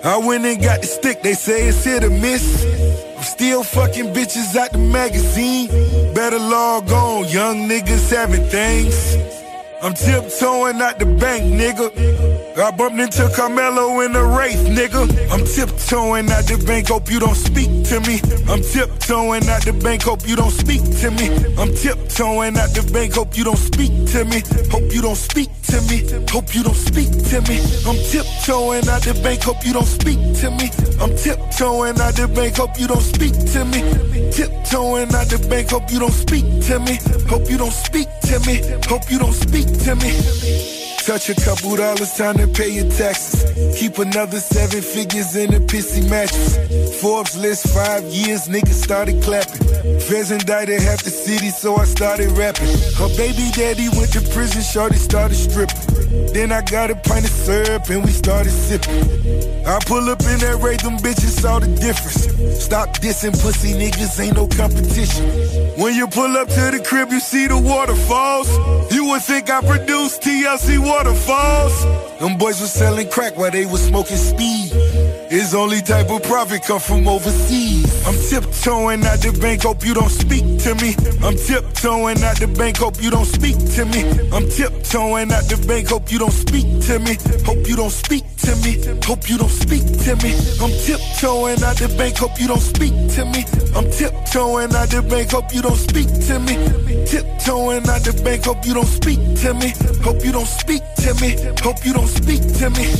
I went and got the stick, they say it's hit or miss. I'm still fucking bitches out the magazine. Better log on, young niggas having things. I'm tiptoeing out the bank, nigga. I bumped into Carmelo in the Wraith, nigga. I'm tiptoeing out the bank, hope you don't speak to me. I'm tiptoeing out the bank, hope you don't speak to me. I'm tiptoeing out the bank, hope you don't speak to me. Hope you don't speak to me. Hope you don't speak to me. I'm tiptoeing out the bank, hope you don't speak to me. I'm tiptoeing out the bank, hope you don't speak to me. Tiptoeing out the bank, hope you don't speak to me. Hope you don't speak to me. Hope you don't speak to me. Touch a couple dollars, time to pay your taxes. Keep another seven figures in a pissy mattress. Forbes list five years, niggas started clapping. Feds indicted half the city, so I started rapping. Her baby daddy went to prison, shorty started stripping. Then I got a pint of syrup and we started sipping. I pull up in that raid, them bitches saw the difference. Stop dissing pussy niggas, ain't no competition. When you pull up to the crib, you see the waterfalls. You would think I produced T L C Waterfalls. Them boys was selling crack while they was smoking speed. His only type of profit come from overseas. I'm tiptoeing out the bank, hope you don't speak to me. I'm tiptoeing out the bank, hope you don't speak to me. I'm tiptoeing out the bank, hope you don't speak to me. Hope you don't speak to me. Hope you don't speak to me. I'm tiptoeing out the bank, hope you don't speak to me. I'm tiptoeing out the bank, hope you don't speak to me. Tiptoeing out the bank, hope you don't speak to me. Hope you don't speak to me. Hope you don't speak to me.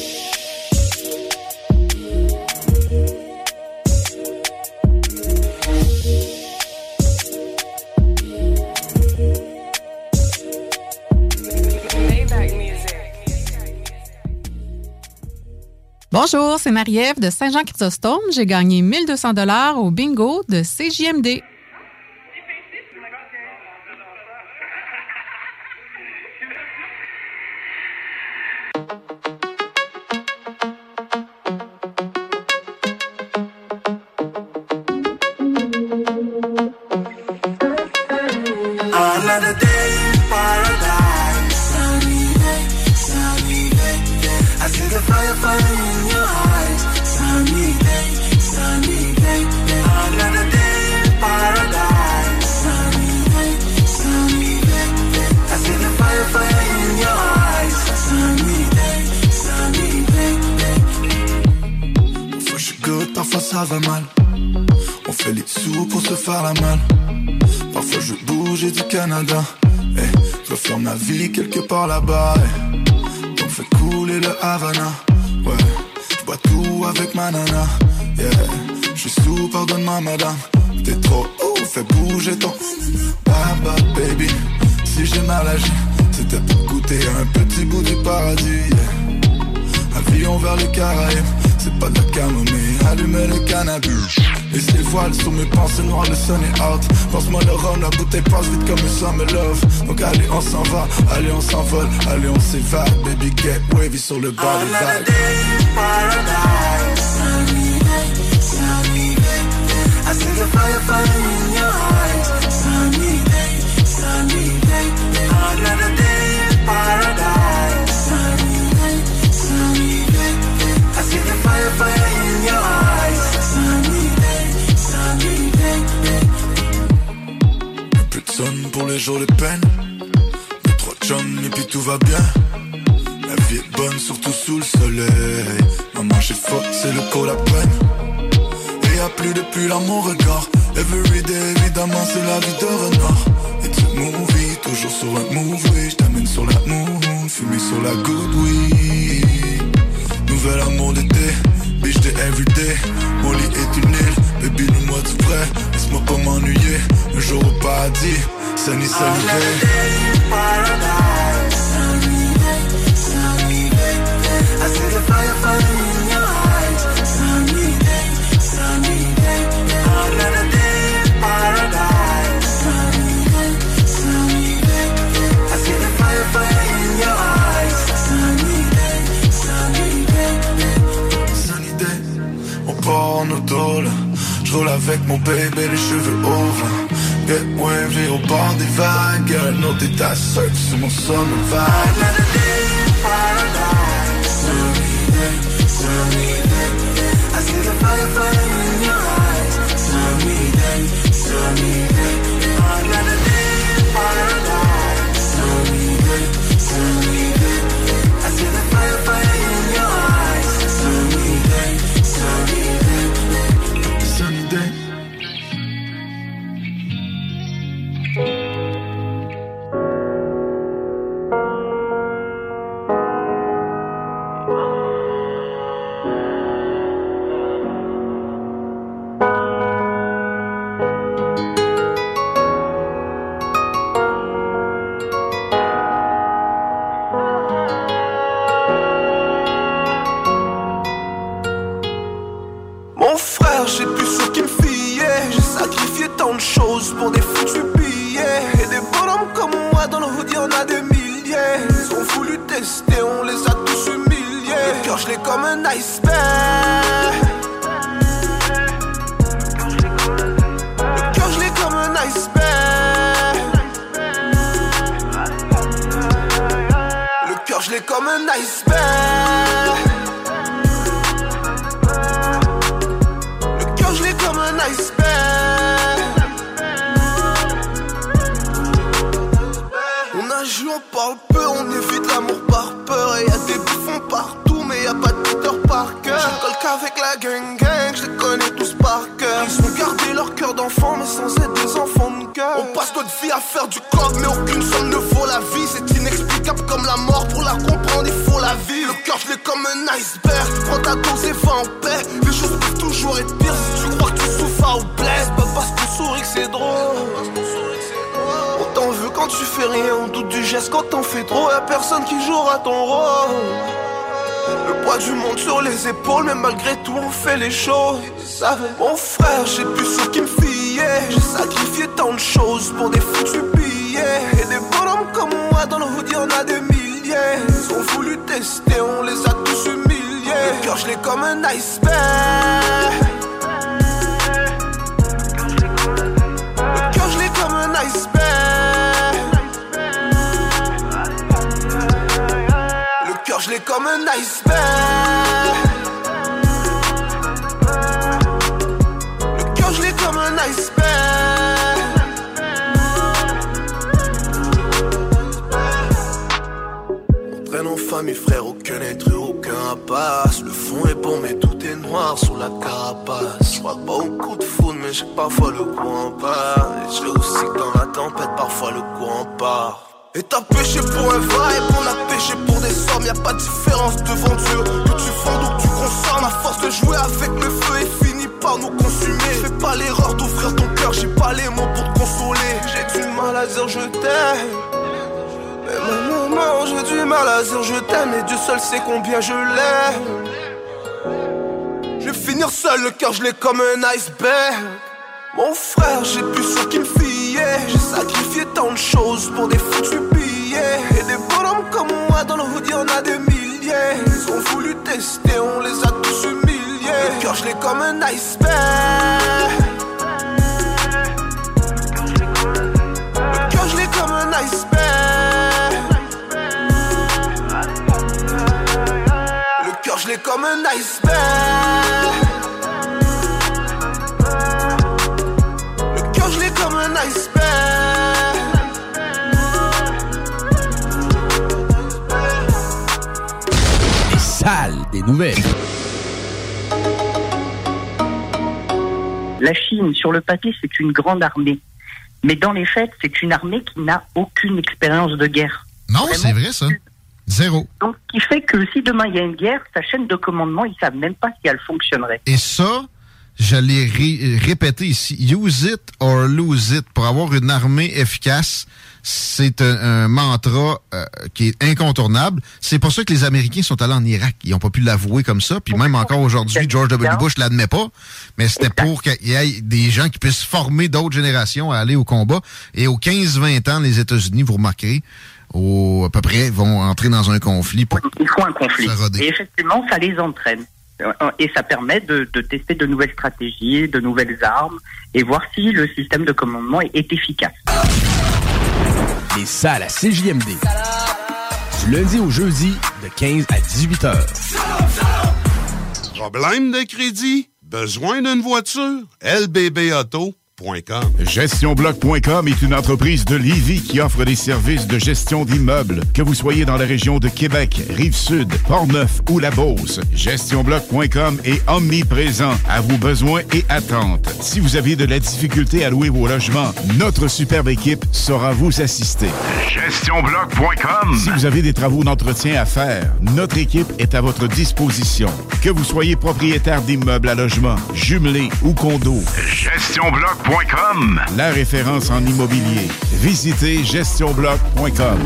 Bonjour, c'est Marie-Ève de Saint-Jean-Chrysostome. J'ai gagné mille deux cents dollars au bingo de C J M D. Another day in paradise. Sunny day, sunny day. I see the fire, fire in your eyes. Sunny day, sunny day. Another day in paradise. Sunny day, sunny day. I see the fire, fire in your eyes. Sunny day, sunny day. Parfois je suis good, parfois ça va mal. On fait les sous pour se faire la malle. Parfois je bouge et du Canada. Hey, je referme ma vie quelque part là-bas. Hey. Donc fais couler le Havana. Ouais, je bois tout avec ma nana. Yeah, je suis sous, pardonne-moi madame. T'es trop ouf, fais bouger ton Baba baby. Si j'ai mal agi, c'était pour goûter un petit bout du paradis. Yeah. Avion vers les Caraïbes. C'est pas de la camomille, allumer le cannabis. Et les voiles sur mes pensées noires, le sun est out. Pense-moi le rhum, la bouteille passe vite comme un summer love. Donc allez on s'en va, allez on s'envole, allez on s'évade. Baby get wavy sur le bord des vagues. Another day in paradise. Sunny day, sunny day. I see the fire, fire in your eyes. Sunny day, sunny day. Another day in paradise. Sunny day, sunny day. I see the fire, fire in your eyes. Sunny day, sunny day. Plus de son pour les jours de peine. Deux, trois chums et puis tout va bien. La vie est bonne, surtout sous le soleil. Maman j'ai fuck, c'est le col à peine. Et y'a plus depuis là mon regard. Everyday évidemment c'est la vie de renard. Et tu movie, toujours sur un move, oui. J't'amène sur la moon, fumé sur la good weed. Nouvel amour d'été, bitch de everyday. Mon lit est une île, baby nous-moi du vrai. Laisse-moi pas m'ennuyer, un jour au paradis. Sunny, sunny day. Another day in paradise. Sunny day, sunny day. I see the fire, fire in your eyes. Sunny day, sunny day. Another day in paradise. Sunny day, sunny day. I see the fire, fire in your eyes. Sunny day, sunny day. Sunny day, on part en auto là. J'roule avec mon bébé, les cheveux au vent. Get wavy au bord des vagues. Girl, no t'es ta seule sur mon summer vibe. Another day in paradise. Sunny day, tell me then. I see the fire, fire in your eyes. Tell me then, tell me then. Another day in paradise. Tell me then, tell me then. I see the fire, fire in your eyes. Tell me then, tell me then. Sunny day. J'ai plus ce qui me fiait. J'ai sacrifié tant de choses pour des foutus billets. Et des bonhommes comme moi dans le hood y'en a des milliers. Ils ont voulu tester, on les a tous humiliés. Le cœur je l'ai comme un iceberg. Le cœur je l'ai comme un iceberg. Le cœur je l'ai comme un iceberg. Comme un iceberg. On a joué, on parle peu, on évite l'amour par peur. Et y'a des bouffons partout, mais y'a pas de Peter Parker. Je colle qu'avec la gang gang, je les connais tous par cœur. Ils ont gardé leur cœur d'enfant, mais sans être des enfants de cœur. On passe notre vie à faire du coq, mais aucune somme ne vaut la vie. C'est inexplicable comme la mort, pour la comprendre il faut la vivre. Le cœur je l'ai comme un iceberg. Prends ta dose et va en paix. Les choses peuvent toujours être pires si tu crois que tu souffres ou blesse. Pas parce qu'on sourit que c'est drôle. On t'en veut quand tu fais rien, on doute du geste quand t'en fais trop. Y'a personne qui jouera ton rôle. Le poids du monde sur les épaules, mais malgré tout on fait les choses. Mon frère, j'ai plus ce qui me fiait. J'ai sacrifié tant de choses pour des foutus billets. Et des bonhommes comme moi dans le hood y'en a des milliers. Ils ont voulu tester, on les a tous humiliés. Le cœur je l'ai comme un iceberg. Le cœur je l'ai comme un iceberg. Le cœur je l'ai comme un iceberg. Le cœur je l'ai comme un iceberg. On traîne en famille frère, aucun être, aucun rapace. Le fond est bon mais tout est noir sur la carapace. Je crois pas au coup de foudre mais j'ai que parfois le courant part. Et je aussi que dans la tempête parfois le courant part. Et t'as péché pour un vibe, on a péché pour des sommes. Y'a pas de différence devant Dieu. Que tu vendes ou que tu consommes, à force de jouer avec le feu et finit par nous consumer. Fais pas l'erreur d'ouvrir ton cœur, j'ai pas les mots pour te consoler. J'ai du mal à dire je t'aime. Mais maman, j'ai du mal à dire je t'aime. Et Dieu seul sait combien je l'aime. Je vais finir seul, le cœur je l'ai comme un iceberg. Mon frère, j'ai plus ce qui me fiait. J'ai sacrifié tant de choses pour des foutus billets. Et des bonhommes comme moi dans le hood y'en a des milliers. Ils ont voulu tester, on les a tous humiliés. Le cœur je l'ai comme un iceberg. Le cœur je l'ai comme un iceberg. Le cœur je l'ai comme un iceberg. Je l'ai comme un iceberg. Les salles des nouvelles. La Chine, sur le papier, c'est une grande armée. Mais dans les faits, c'est une armée qui n'a aucune expérience de guerre. Non, Vraiment, c'est vrai, ça. Zéro. Donc, ce qui fait que si demain il y a une guerre, sa chaîne de commandement, ils savent même pas si elle fonctionnerait. Et ça... Je l'ai ré- répété ici, use it or lose it. Pour avoir une armée efficace, c'est un, un mantra euh, qui est incontournable. C'est pour ça que les Américains sont allés en Irak. Ils n'ont pas pu l'avouer comme ça. Puis même encore aujourd'hui, George W. Bush ne l'admet pas. Mais c'était pour qu'il y ait des gens qui puissent former d'autres générations à aller au combat. Et aux quinze vingt ans, les États-Unis, vous remarquerez, au, à peu près, vont entrer dans un conflit. Pour Il faut un conflit. Et effectivement, ça les entraîne. Et ça permet de, de tester de nouvelles stratégies, de nouvelles armes, et voir si le système de commandement est, est efficace. Les salles à C J M D. Du lundi au jeudi, de quinze à dix-huit heures. Problème de crédit? Besoin d'une voiture? L B B auto point com. gestion bloc point com est une entreprise de Lévis qui offre des services de gestion d'immeubles. Que vous soyez dans la région de Québec, Rive-Sud, Port-Neuf ou la Beauce, gestion bloc point com est omniprésent à vos besoins et attentes. Si vous avez de la difficulté à louer vos logements, notre superbe équipe saura vous assister. gestion bloc point com. Si vous avez des travaux d'entretien à faire, notre équipe est à votre disposition. Que vous soyez propriétaire d'immeubles à logement, jumelés ou condos, gestion bloc point com. La référence en immobilier. Visitez gestion bloc point com.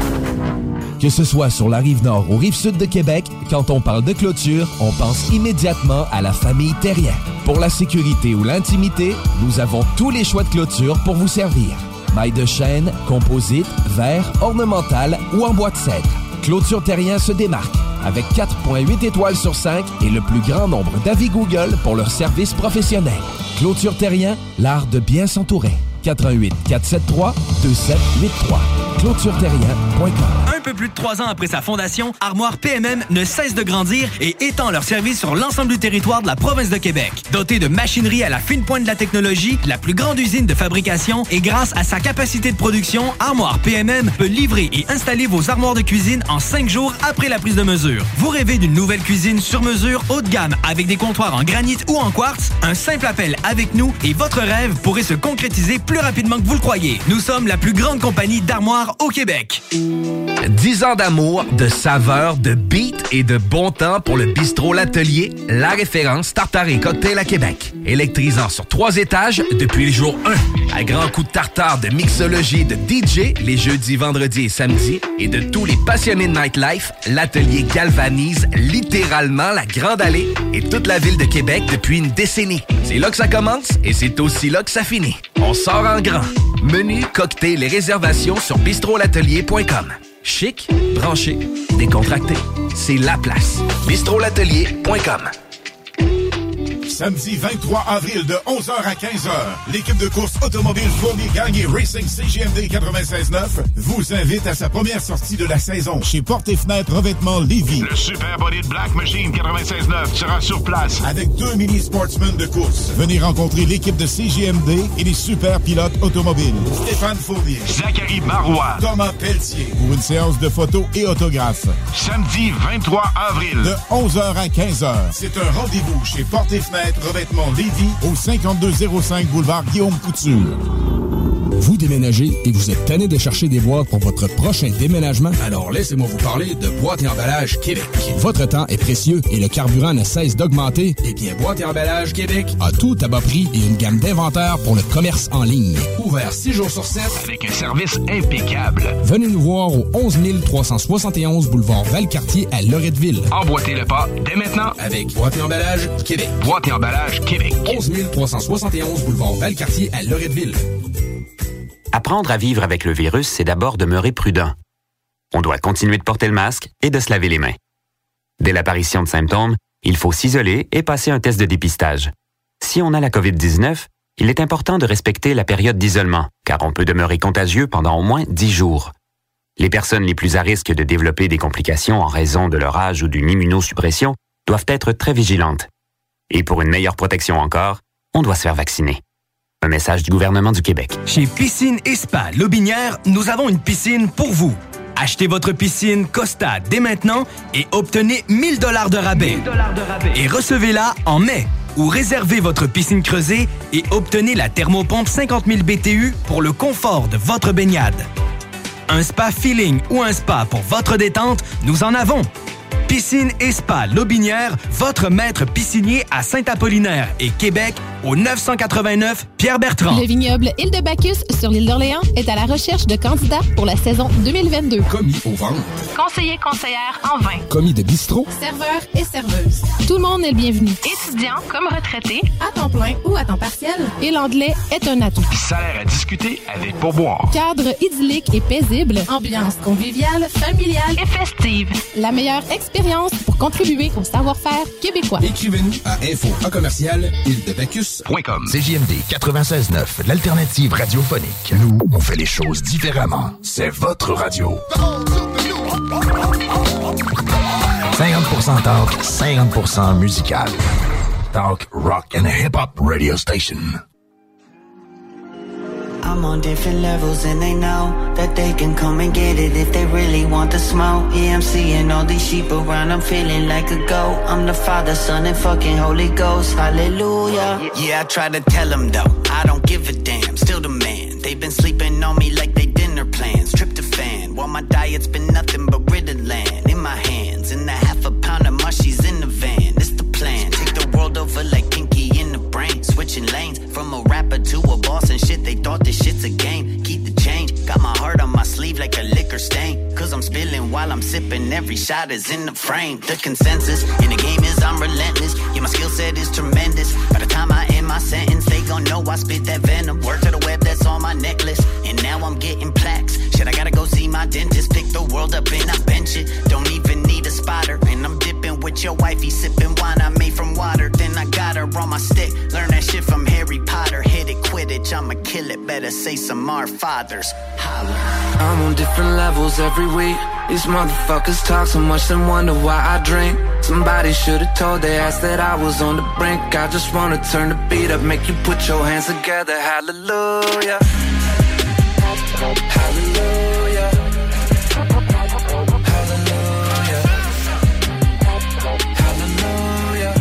Que ce soit sur la rive nord ou rive sud de Québec, quand on parle de clôture, on pense immédiatement à la famille Terrien. Pour la sécurité ou l'intimité, nous avons tous les choix de clôture pour vous servir. Mailles de chêne, composite, verre, ornemental ou en bois de cèdre. Clôture Terrien se démarque avec quatre virgule huit étoiles sur cinq et le plus grand nombre d'avis Google pour leur service professionnel. Clôture Terrien, l'art de bien s'entourer. quatre un huit, quatre sept trois, deux sept huit trois. clôture terrien point com. Un peu plus de trois ans après sa fondation, Armoire P M M ne cesse de grandir et étend leur service sur l'ensemble du territoire de la province de Québec. Dotée de machinerie à la fine pointe de la technologie, la plus grande usine de fabrication et grâce à sa capacité de production, Armoire P M M peut livrer et installer vos armoires de cuisine en cinq jours après la prise de mesure. Vous rêvez d'une nouvelle cuisine sur mesure haut de gamme avec des comptoirs en granit ou en quartz? Un simple appel avec nous et votre rêve pourrait se concrétiser plus rapidement que vous le croyez. Nous sommes la plus grande compagnie d'armoires au Québec. dix ans d'amour, de saveur, de beat et de bon temps pour le bistrot L'Atelier, la référence tartare et cocktail à Québec. Électrisant sur trois étages depuis le jour un. À grands coups de tartare, de mixologie, de D J, les jeudis, vendredis et samedis, et de tous les passionnés de nightlife, L'Atelier galvanise littéralement la Grande Allée et toute la ville de Québec depuis une décennie. C'est là que ça commence et c'est aussi là que ça finit. On sort en grand. Menu, cocktail et réservations sur bistrot l'atelier point com. Chic, branché, décontracté. C'est la place. bistrot l'atelier point com. Samedi vingt-trois avril de onze heures à quinze heures, l'équipe de course automobile Fournier Gagné Racing C G M D quatre-vingt-seize neuf vous invite à sa première sortie de la saison chez Portes et Fenêtres Revêtement Lévis. Le Super Body de Black Machine quatre-vingt-seize neuf sera sur place avec deux mini-sportsmen de course. Venez rencontrer l'équipe de C G M D et les super pilotes automobiles. Stéphane Fournier, Zachary Marois, Thomas Pelletier pour une séance de photos et autographes. Samedi vingt-trois avril de onze heures à quinze heures. C'est un rendez-vous chez Portes et Fenêtres Revêtement Lévis au cinquante-deux zéro cinq boulevard Guillaume Couture. Vous déménagez et vous êtes tanné de chercher des boîtes pour votre prochain déménagement? Alors laissez-moi vous parler de Boîte et Emballage Québec. Votre temps est précieux et le carburant ne cesse d'augmenter. Eh bien, Boîte et Emballage Québec a tout à bas prix et une gamme d'inventaires pour le commerce en ligne. Ouvert six jours sur sept avec un service impeccable. Venez nous voir au onze mille trois cent soixante et onze boulevard Valcartier à Loretteville. Emboîtez le pas dès maintenant avec Boîte et Emballage Québec. Boîte et Emballage Québec. onze mille trois cent soixante et onze boulevard Valcartier à Loretteville. Apprendre à vivre avec le virus, c'est d'abord demeurer prudent. On doit continuer de porter le masque et de se laver les mains. Dès l'apparition de symptômes, il faut s'isoler et passer un test de dépistage. Si on a la covid dix-neuf, il est important de respecter la période d'isolement, car on peut demeurer contagieux pendant au moins dix jours. Les personnes les plus à risque de développer des complications en raison de leur âge ou d'une immunosuppression doivent être très vigilantes. Et pour une meilleure protection encore, on doit se faire vacciner. Un message du gouvernement du Québec. Chez Piscine et Spa Lobinière, nous avons une piscine pour vous. Achetez votre piscine Costa dès maintenant et obtenez mille dollars de rabais. Et recevez-la en mai. Ou réservez votre piscine creusée et obtenez la thermopompe cinquante mille B T U pour le confort de votre baignade. Un spa feeling ou un spa pour votre détente, nous en avons. Piscine et Spa Lobinière, votre maître piscinier à Saint-Apollinaire et Québec au neuf cent quatre-vingt-neuf Pierre-Bertrand. Le vignoble Île de Bacchus sur l'île d'Orléans est à la recherche de candidats pour la saison deux mille vingt-deux. Commis au vin. Conseiller conseillère en vin. Commis de bistrot. Serveur et serveuse. Tout le monde est le bienvenu. Étudiant comme retraité, à temps plein ou à temps partiel. Et l'anglais est un atout. Salaire à discuter avec pourboire. Cadre idyllique et paisible. Ambiance conviviale, familiale et festive. La meilleure expérience pour contribuer au savoir-faire québécois. Écrivez-nous à info en commercial île de Bacchus point com. C J M D quatre-vingt-seize neuf, l'alternative radiophonique. Nous, on fait les choses différemment. C'est votre radio. cinquante pour cent talk, cinquante pour cent musical. Talk, rock and hip-hop radio station. I'm on different levels and they know that they can come and get it if they really want the smoke. Yeah, I'm seeing all these sheep around, I'm feeling like a goat. I'm the Father, Son, and fucking Holy Ghost. Hallelujah. Yeah, I try to tell them though, I don't give a damn, still the man. They've been sleeping on me like they dinner plans. Tryptophan, while my diet's been nothing but Ritalin in my hands. And a half a pound of mushies in the van, it's the plan. Take the world over like Pinky in the brain. Switching lanes, from a rapper to a boss and shit. They thought this shit's a game, keep the change. Got my heart on my sleeve like a liquor stain. Cause I'm spilling while I'm sipping, every shot is in the frame. The consensus in the game is I'm relentless. Yeah, my skill set is tremendous. By the time I end my sentence, they gon' know I spit that venom. Word to the web, that's on my necklace. And now I'm getting plaques. Shit, I gotta go see my dentist. Pick the world up and I bench it. Don't even need a spotter. And I'm dipping with your wifey, sipping wine I made from water. Then I got her on my stick. Learn that shit from Harry Potter. Hit it, Quidditch, I'ma kill it. Better say some our fathers. Holler. I'm on different levels every week. These motherfuckers talk so much and wonder why I drink. Somebody should've told their ass that I was on the brink. I just wanna turn the beat up, make you put your hands together. Hallelujah. Hallelujah. Hallelujah. Hallelujah.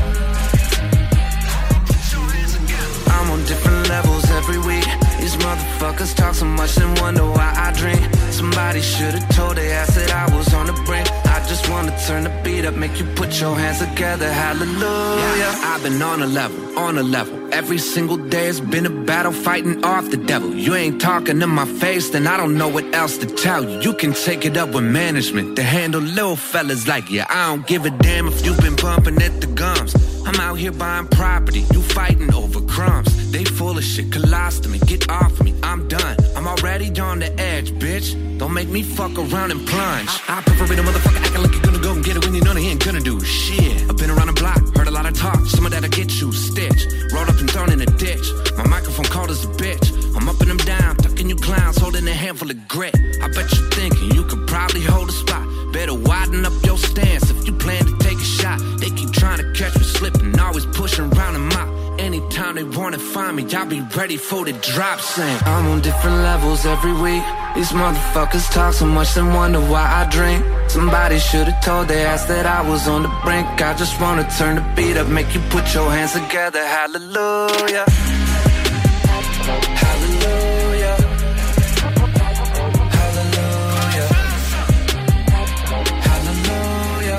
I'm on different levels every week. These motherfuckers talk so much and wonder why I drink. Somebody should've told their ass that I was on the brink. I just wanna turn the beat up, make you put your hands together. Hallelujah. Yeah, I've been on a level, on a level. Every single day it's been a battle fighting off the devil. You ain't talking to my face, then I don't know what else to tell you. You can take it up with management to handle little fellas like you. I don't give a damn if you've been bumping at the gums. I'm out here buying property, you fighting over crumbs. They full of shit, colostomy, get off of me, I'm done. I'm already on the edge, bitch. Don't make me fuck around and plunge. I, I prefer being a motherfucker acting like you're gonna go and get it when you know they ain't gonna do shit. I've been around the block, heard a lot of talk, some of that'll get you stitched. Rolled up and thrown in a ditch, my microphone cold as a bitch. I'm up and I'm down, tucking you clowns, holding a handful of grit. I bet you're thinking you could probably hold a spot. Better widen up your stance if you plan to take a shot. They keep trying to catch me slipping, always pushing around a mop. Anytime they wanna find me, I'll be ready for the drop saying I'm on different levels every week. These motherfuckers talk so much and wonder why I drink. Somebody should've told their ass that I was on the brink. I just wanna turn the beat up, make you put your hands together. Hallelujah. Hallelujah. Hallelujah. Hallelujah.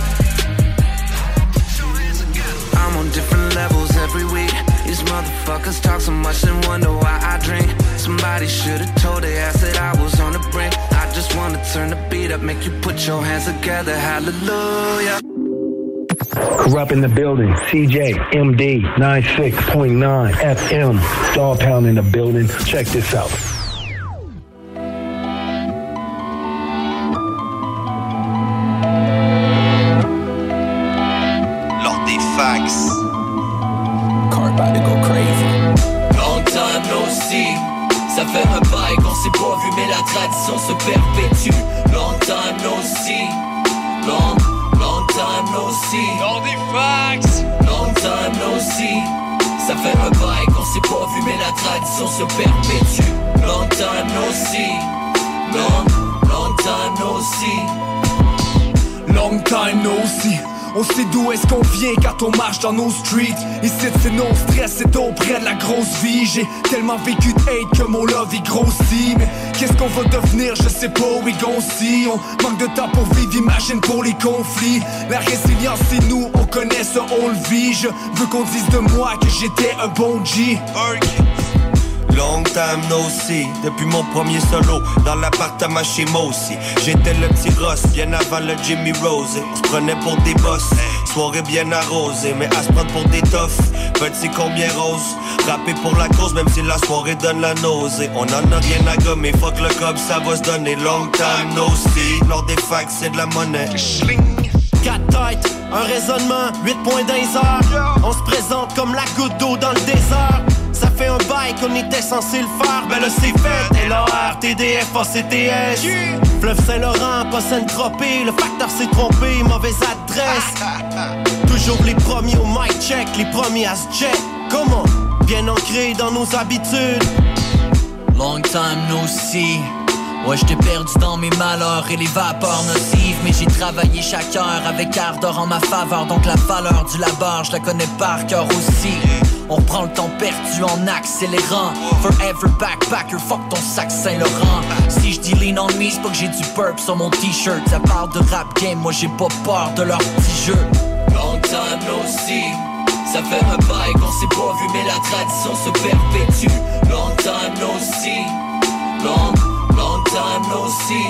I'm on different levels every week. These motherfuckers talk so much and wonder why I drink. Somebody should've told their ass that I was on the brink. I just wanna turn the beat up, make you put your hands together. Hallelujah. Corrupt in the building. C J M D ninety-six point nine F M. Dog Pound in the building. Check this out. Lors des fax. Car about to go crazy. Long time no see. Ça fait un bail qu'on s'est pas vu, mais la tradition se perpétue. Long time no see. Long, long time no see. Lors des fax. Long time no see. Ça fait un bail qu'on s'est pas vu, mais la tradition se perpétue. Long time no see. Long, long time no see. Long time no see. On sait d'où est-ce qu'on vient quand on marche dans nos streets. Ici c'est non stress, c'est auprès de la grosse vie. J'ai tellement vécu de hate que mon love il grossit. Mais qu'est-ce qu'on va devenir, je sais pas, we gon' see. On manque de temps pour vivre, imagine pour les conflits. La résilience c'est nous, on connaît ça, on le vit. Je veux qu'on dise de moi que j'étais un bon G. Long time no see, depuis mon premier solo dans l'appartement chez Mossy. J'étais le petit Ross, bien avant le Jimmy Rose. On se prenait pour des boss, soirée bien arrosée. Mais à se prendre pour des toughs, petit combien rose. Rapper pour la cause, même si la soirée donne la nausée. On en a rien à gommer, fuck le cob, ça va se donner. Long time no see, lors des facs c'est de la monnaie. Quatre têtes, un raisonnement, huit points dans les heures. On se présente comme la goutte d'eau dans le désert. Ça fait un bail qu'on était censé le faire, ben là c'est fait. L A R, T D F, A C T S. Fleuve Saint-Laurent, pas Saint-Tropez, le facteur s'est trompé, mauvaise adresse. Toujours les premiers au mic check, les premiers à se check. Comment? Bien ancrés dans nos habitudes. Long time no see. Ouais, j't'ai perdu dans mes malheurs et les vapeurs nocives. Mais j'ai travaillé chaque heure avec ardeur en ma faveur. Donc la valeur du labeur, je la connais par cœur aussi. On prend le temps perdu en accélérant. Forever backpacker, fuck ton sac Saint-Laurent. Si je dis lean on me, c'est pas que j'ai du burp sur mon t-shirt. Ça parle de rap game, moi j'ai pas peur de leur petit jeu. Long time no see. Ça fait un bail qu'on s'est pas vu, mais la tradition se perpétue. Long time no see. Long, long time no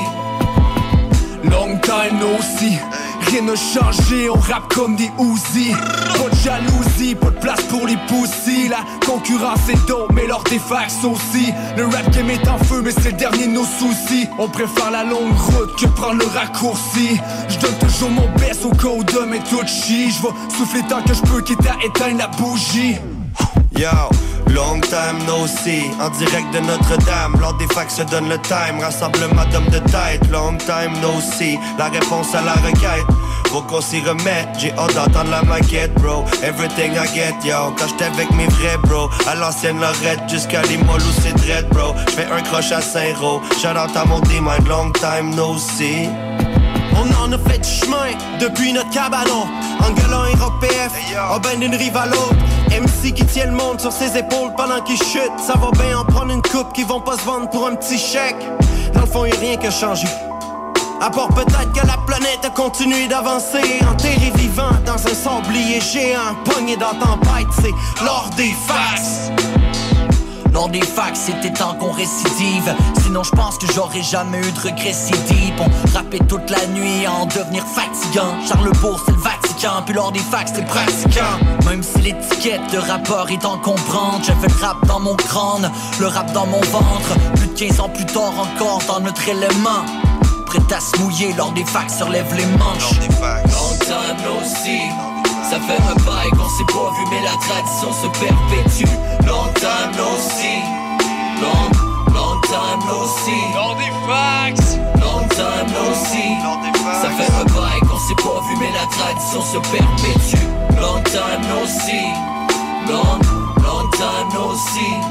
see. Long time no see. Rien n'a changé, on rappe comme des Uzi. Pas de jalousie, pas de place pour les poussis. La concurrence est dope, mais leur défax aussi. Le rap game est en feu, mais c'est le dernier de nos soucis. On préfère la longue route que prendre le raccourci. Je donne toujours mon best au cas où demain tout chie. Je vais souffler tant que je peux, quitte à éteindre la bougie. Yo, long time no see. En direct de Notre-Dame, lors des facs se donne le time. Rassemblement d'hommes de tête. Long time no see. La réponse à la requête, faut qu'on s'y remette. J'ai hâte d'entendre la maquette, bro. Everything I get, yo. Quand j'étais avec mes vrais bro, à l'ancienne Lorette jusqu'à Limoilou c'est dread, bro. J'fais un croche à Saint-Roch. Shout out à mon D-Mind, long time no see. On en a fait du chemin depuis notre cabanon. Angolan et Rock P F, on ben d'une rive à l'autre. M C qui tient le monde sur ses épaules pendant qu'il chute. Ça va bien en prendre une coupe qui vont pas se vendre pour un petit chèque. Dans le fond y'a rien qui a changé, à part peut-être que la planète a continué d'avancer. Enterré vivant dans un sablier géant, pogné dans tempête, c'est l'or des faces. Lors des facs, c'était temps qu'on récidive. Sinon je pense que j'aurais jamais eu de regrets si deep. On rappait toute la nuit à en devenir fatigant. Charlesbourg c'est le Vatican, puis lors des facs c'est pratiquant. Même si l'étiquette de rappeur est encombrante, j'avais le rap dans mon crâne, le rap dans mon ventre. Plus de quinze ans plus tard encore dans notre élément, prêt à se mouiller lors des facs, se relève les manches. Long time no see. Ça fait un bail qu'on s'est pas vu, mais la tradition se perpétue. Long time no see. Long, long time no see. Lors des fax. Long time no see. Ça fait un bail qu'on s'est pas vu, mais la tradition se perpétue. Long time no see. Long, long time no see.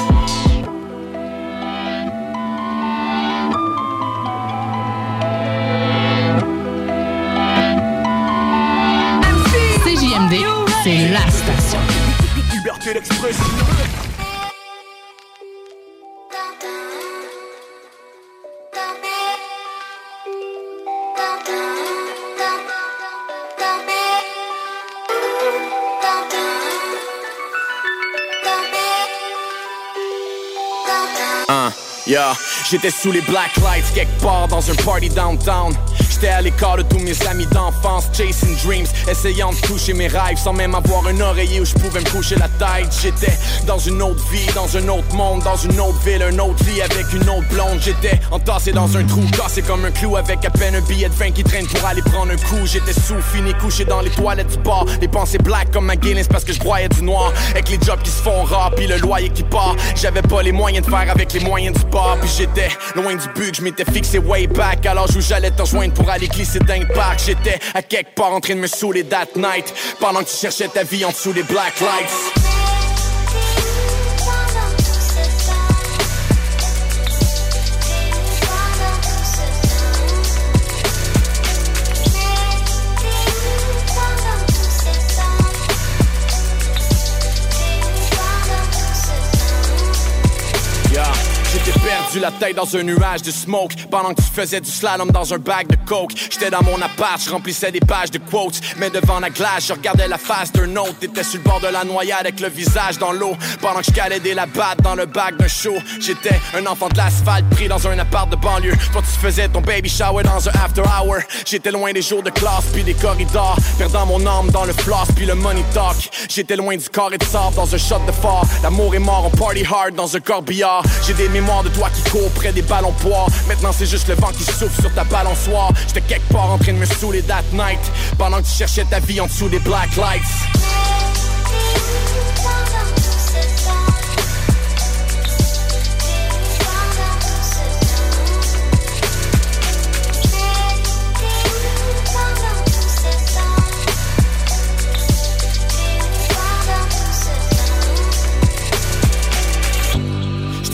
C J M D, c'est la station. Liberté d'expression. Uh, yeah, j'étais sous les black lights quelque part dans un party downtown. J'étais à l'écart de tous mes amis d'enfance, chasing dreams, essayant de toucher mes rêves sans même avoir un oreiller où je pouvais me coucher la tête. J'étais dans une autre vie, dans un autre monde, dans une autre ville, un autre lit avec une autre blonde. J'étais entassé dans un trou, cassé comme un clou avec à peine un billet de vingt qui traîne pour aller prendre un coup. J'étais sous, fini, couché dans les toilettes du bar, les pensées black comme McGuinness parce que je broyais du noir. Avec les jobs qui se font rares, puis le loyer qui part, j'avais pas les moyens de faire avec les moyens du bar. Puis j'étais loin du but que je m'étais fixé way back, à l'âge où j'allais te rejoindre pour aller glisser d'un parc. J'étais à quelque part en train de me saouler that night, pendant que tu cherchais ta vie en dessous des black lights. J'étais perdu la tête dans un nuage de smoke pendant que tu faisais du slalom dans un bag de coke. J'étais dans mon appart, je remplissais des pages de quotes, mais devant la glace, je regardais la face d'un autre. T'étais sur le bord de la noyade avec le visage dans l'eau, pendant que je calais des labattes dans le bac d'un show. J'étais un enfant de l'asphalte pris dans un appart de banlieue. Toi tu faisais ton baby shower dans un after hour. J'étais loin des jours de classe puis des corridors, perdant mon âme dans le floss puis le money talk. J'étais loin du carré de sable dans un shot de phare. L'amour est mort, on party hard dans un corbillard. J'ai des mémoires de toi qui court près des ballons poires. Maintenant c'est juste le vent qui souffle sur ta balançoire. J'étais quelque part en train de me saouler that night, pendant que tu cherchais ta vie en dessous des black lights.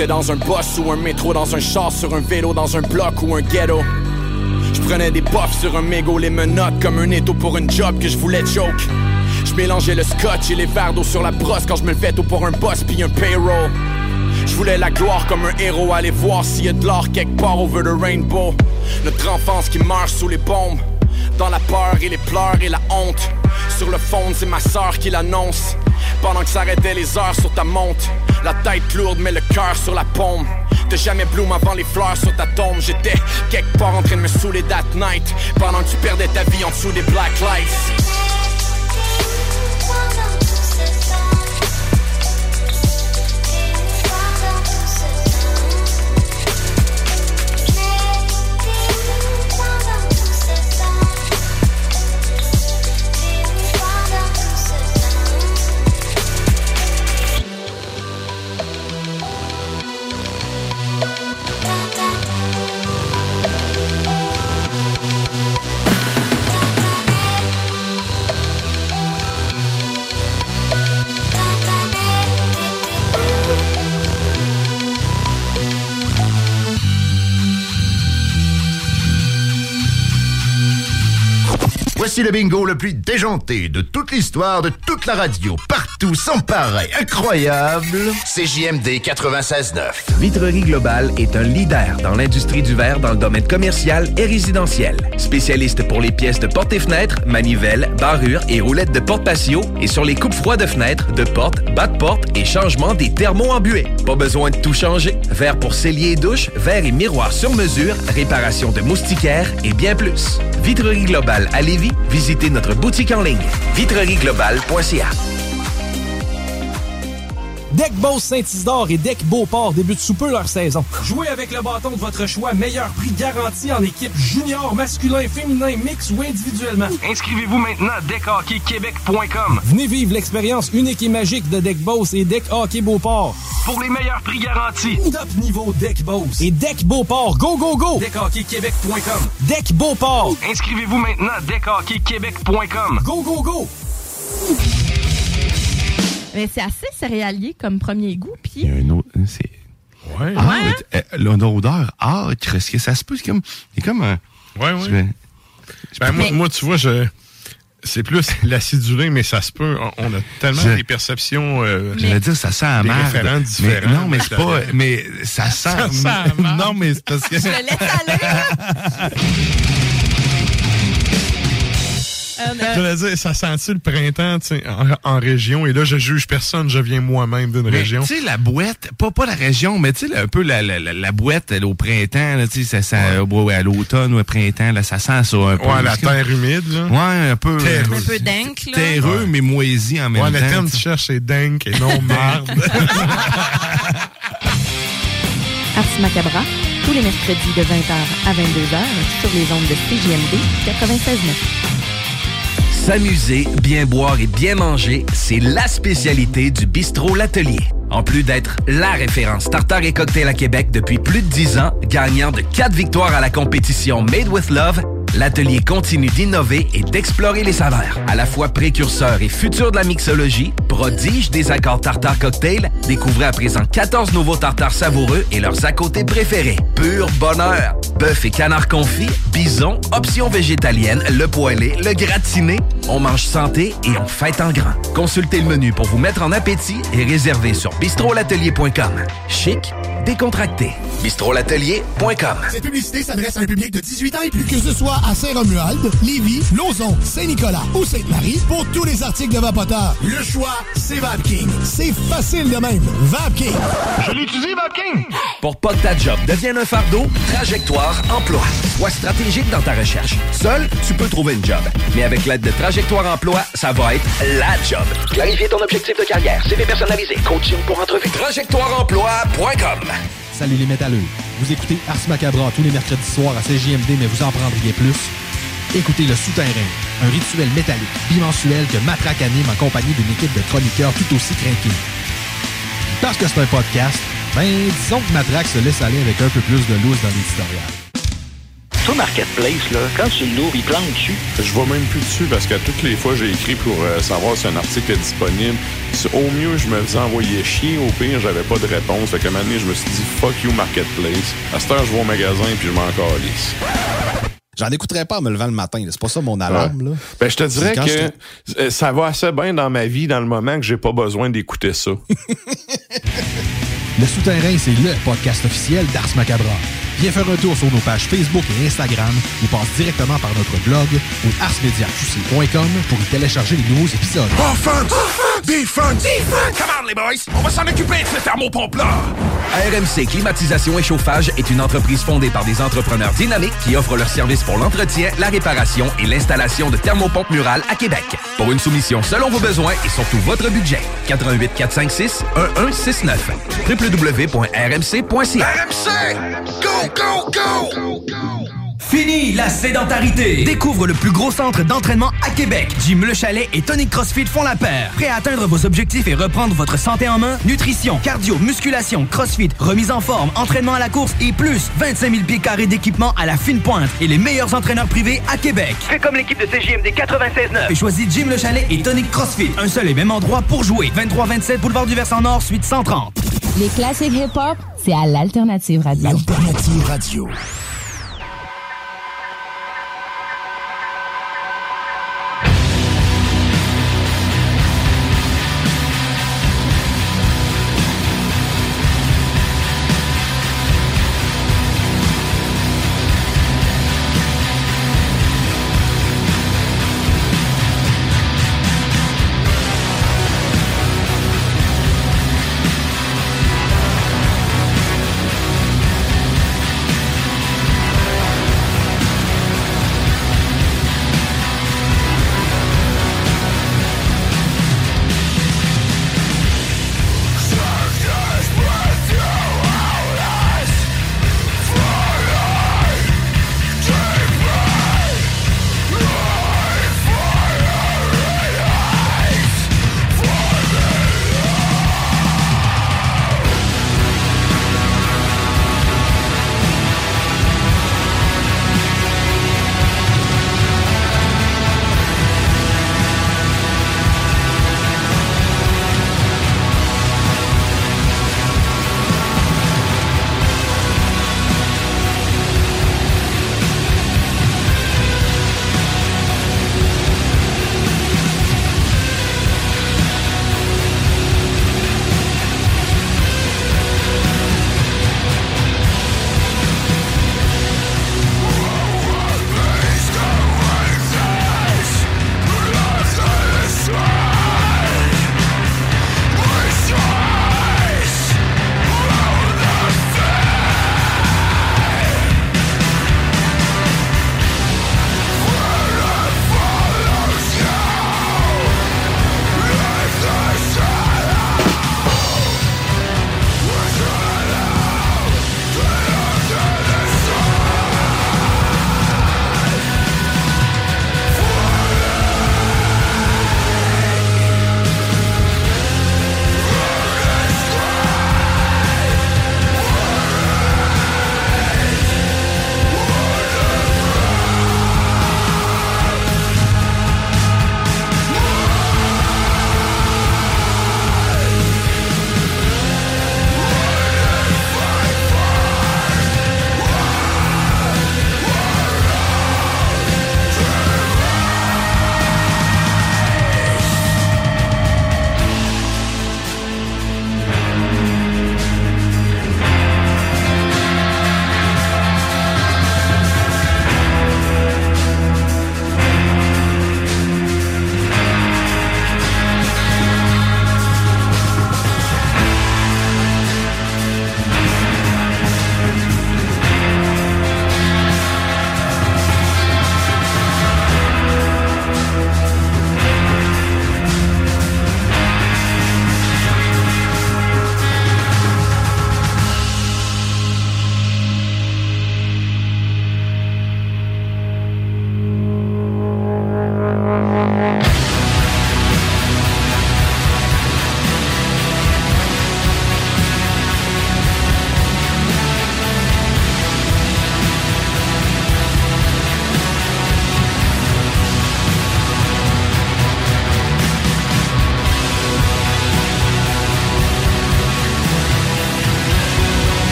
J'étais dans un bus ou un métro, dans un char, sur un vélo, dans un bloc ou un ghetto. Je prenais des puffs sur un mégot, les menottes comme un étau pour une job que je voulais choke. Je mélangeais le scotch et les verres d'eau sur la brosse quand je me levais tôt pour un boss puis un payroll. Je voulais la gloire comme un héros, aller voir s'il y a de l'or quelque part over the rainbow. Notre enfance qui meurt sous les bombes, dans la peur et les pleurs et la honte. Sur le fond, c'est ma sœur qui l'annonce, pendant que s'arrêtaient les heures sur ta montre. La tête lourde mais le cœur sur la paume. T'as jamais bloom avant les fleurs sur ta tombe. J'étais quelque part en train de me saouler that night, pendant que tu perdais ta vie en dessous des black lights. Voici le bingo le plus déjanté de toute l'histoire de toute la radio, partout, sans pareil, incroyable. C J M D quatre-vingt-seize neuf. Vitrerie Globale est un leader dans l'industrie du verre dans le domaine commercial et résidentiel. Spécialiste pour les pièces de portes et fenêtres, manivelles, barrures et roulettes de porte patio et sur les coupes froides de fenêtres, de portes, bas de porte et changement des thermos embués. Pas besoin de tout changer. Verre pour cellier et douche, verre et miroir sur mesure, réparation de moustiquaires et bien plus. Vitrerie Globale à Lévis, visitez notre boutique en ligne vitrerie globale point c a. Deck Boss Saint-Isidore et Deck Beauport débutent sous peu leur saison. Jouez avec le bâton de votre choix, meilleur prix garanti en équipe junior, masculin, féminin, mix ou individuellement. Inscrivez-vous maintenant à deck hockey québec point com. Venez vivre l'expérience unique et magique de Deck Boss et Deck Hockey Beauport. Pour les meilleurs prix garantis. Top niveau Deck Boss et Deck Beauport. Go, go, go! deck hockey québec point com. Deck Beauport. Inscrivez-vous maintenant à deck hockey québec point com. Go, go, go! Mais c'est assez céréalier comme premier goût, puis... Il y a un autre... C'est... Ouais. Ah, ouais. L'odeur âcre, est-ce que ça se peut? C'est comme... C'est comme un... Ouais, ouais. Je vais... Ben, moi, moi, tu vois, je... C'est plus l'acidulé, mais ça se peut. On a tellement je... des perceptions... Euh, J'allais dire, ça sent à merde. différents. Mais, non, mais c'est pas... Mais ça sent... Ça sent à merde. Non, mais c'est parce que... Je le laisse aller. J'allais dire, ça sent-tu le printemps en, en région? Et là, je juge personne, je viens moi-même d'une région. Tu sais, la boîte, pas, pas la région, mais tu sais, un peu la, la, la, la boîte elle, au printemps, tu sais, ça sent ouais. à l'automne ou au printemps, là, ça sent ça un peu. Ouais, la terre humide, là. Ouais, un peu. Terreux. Un peu dingue, là. Terreux, ouais. mais moisi en même ouais, temps. Ouais, le terme que tu cherches, c'est dingue et non merde. Ars Macabra, tous les mercredis de vingt heures à vingt-deux heures sur les ondes de C J M D quatre-vingt-seize neuf. S'amuser, bien boire et bien manger, c'est la spécialité du bistrot L'Atelier. En plus d'être la référence tartare et cocktail à Québec depuis plus de dix ans, gagnant de quatre victoires à la compétition Made with Love, l'Atelier continue d'innover et d'explorer les saveurs. À la fois précurseur et futur de la mixologie, prodige des accords tartare cocktail, découvrez à présent quatorze nouveaux tartares savoureux et leurs à côté préférés. Pur bonheur! Bœuf et canard confit, bison, options végétaliennes, le poêlé, le gratiné. On mange santé et on fête en grand. Consultez le menu pour vous mettre en appétit et réservez sur bistrot l'atelier point com. Chic, décontracté. bistrot l'atelier point com. Cette publicité s'adresse à un public de dix-huit ans et plus. Que ce soit à Saint-Romuald, Lévis, Lauson, Saint-Nicolas ou Sainte-Marie, pour tous les articles de Vapoteur, le choix, c'est VapKing. C'est facile de même. VapKing. Je l'utilise, VapKing. Pour pas que ta job devienne un fardeau, Trajectoire Emploi. Sois stratégique dans ta recherche. Seul, tu peux trouver une job. Mais avec l'aide de Trajectoire Emploi, ça va être la job. Clarifier ton objectif de carrière, C V personnalisé, coaching pour entrevue. Trajectoire emploi point com. Salut les métalleux. Vous écoutez Ars Macabra tous les mercredis soirs à C J M D, mais vous en prendriez plus? Écoutez Le Souterrain, un rituel métallique bimensuel que Matraque anime en compagnie d'une équipe de chroniqueurs tout aussi craqués. Parce que c'est un podcast, ben disons que Matraque se laisse aller avec un peu plus de loose dans l'éditorial. Sur Marketplace, là, quand tu l'ouvres, il plante dessus. Je vois même plus dessus parce que toutes les fois, j'ai écrit pour euh, savoir si un article est disponible. Au mieux, je me faisais envoyer chier. Au pire, j'avais pas de réponse. Fait qu'à un moment donné, je me suis dit, fuck you, Marketplace. À cette heure, je vais au magasin puis je m'en calisse. J'en écouterais pas en me levant le matin. C'est pas ça mon alarme. Ouais. Là. Ben, je te dirais que je... ça va assez bien dans ma vie dans le moment que j'ai pas besoin d'écouter ça. Le Souterrain, c'est le podcast officiel d'Ars Macabra. Viens faire un tour sur nos pages Facebook et Instagram ou passe directement par notre blog ou ars media q c point com pour y télécharger les nouveaux épisodes. Offense! Offense! Defense! Defense! Come on, les boys! On va s'en occuper de ce thermopompe-là! R M C Climatisation et Chauffage est une entreprise fondée par des entrepreneurs dynamiques qui offrent leurs services pour l'entretien, la réparation et l'installation de thermopompes murales à Québec. Pour une soumission selon vos besoins et surtout votre budget, quatre un huit quatre cinq six un un six neuf w w w point r m c point c a. R M C! Go, go, go! Fini la sédentarité! Découvre le plus gros centre d'entraînement à Québec. Jim Le Chalet et Tonic CrossFit font la paire. Prêt à atteindre vos objectifs et reprendre votre santé en main? Nutrition, cardio, musculation, CrossFit, remise en forme, entraînement à la course et plus vingt-cinq mille pieds carrés d'équipement à la fine pointe et les meilleurs entraîneurs privés à Québec. Fais comme l'équipe de C J M D quatre-vingt-seize neuf et choisis Jim Le Chalet et Tonic CrossFit. Un seul et même endroit pour jouer. vingt-trois vingt-sept Boulevard du Versant Nord, suite cent trente. Les classiques hip-hop, c'est à l'Alternative Radio. L'Alternative Radio.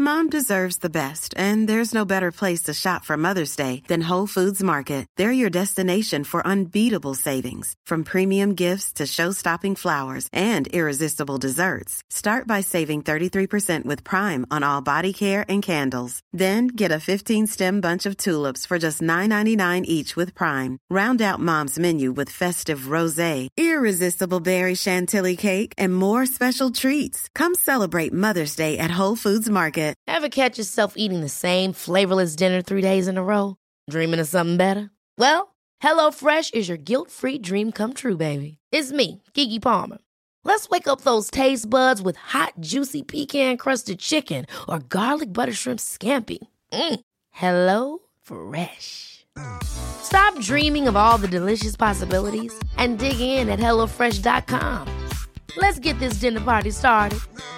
mom deserves the best, and there's no better place to shop for Mother's Day than Whole Foods Market. They're your destination for unbeatable savings, from premium gifts to show-stopping flowers and irresistible desserts. Start by saving thirty-three percent with Prime on all body care and candles. Then get a fifteen-stem bunch of tulips for just nine ninety-nine each with Prime. Round out Mom's menu with festive rosé, irresistible berry chantilly cake, and more special treats. Come celebrate Mother's Day at Whole Foods Market. Ever catch yourself eating the same flavorless dinner three days in a row? Dreaming of something better? Well, HelloFresh is your guilt-free dream come true, baby. It's me, Keke Palmer. Let's wake up those taste buds with hot, juicy pecan-crusted chicken or garlic butter shrimp scampi. Mm. Hello Fresh. Stop dreaming of all the delicious possibilities and dig in at HelloFresh dot com. Let's get this dinner party started.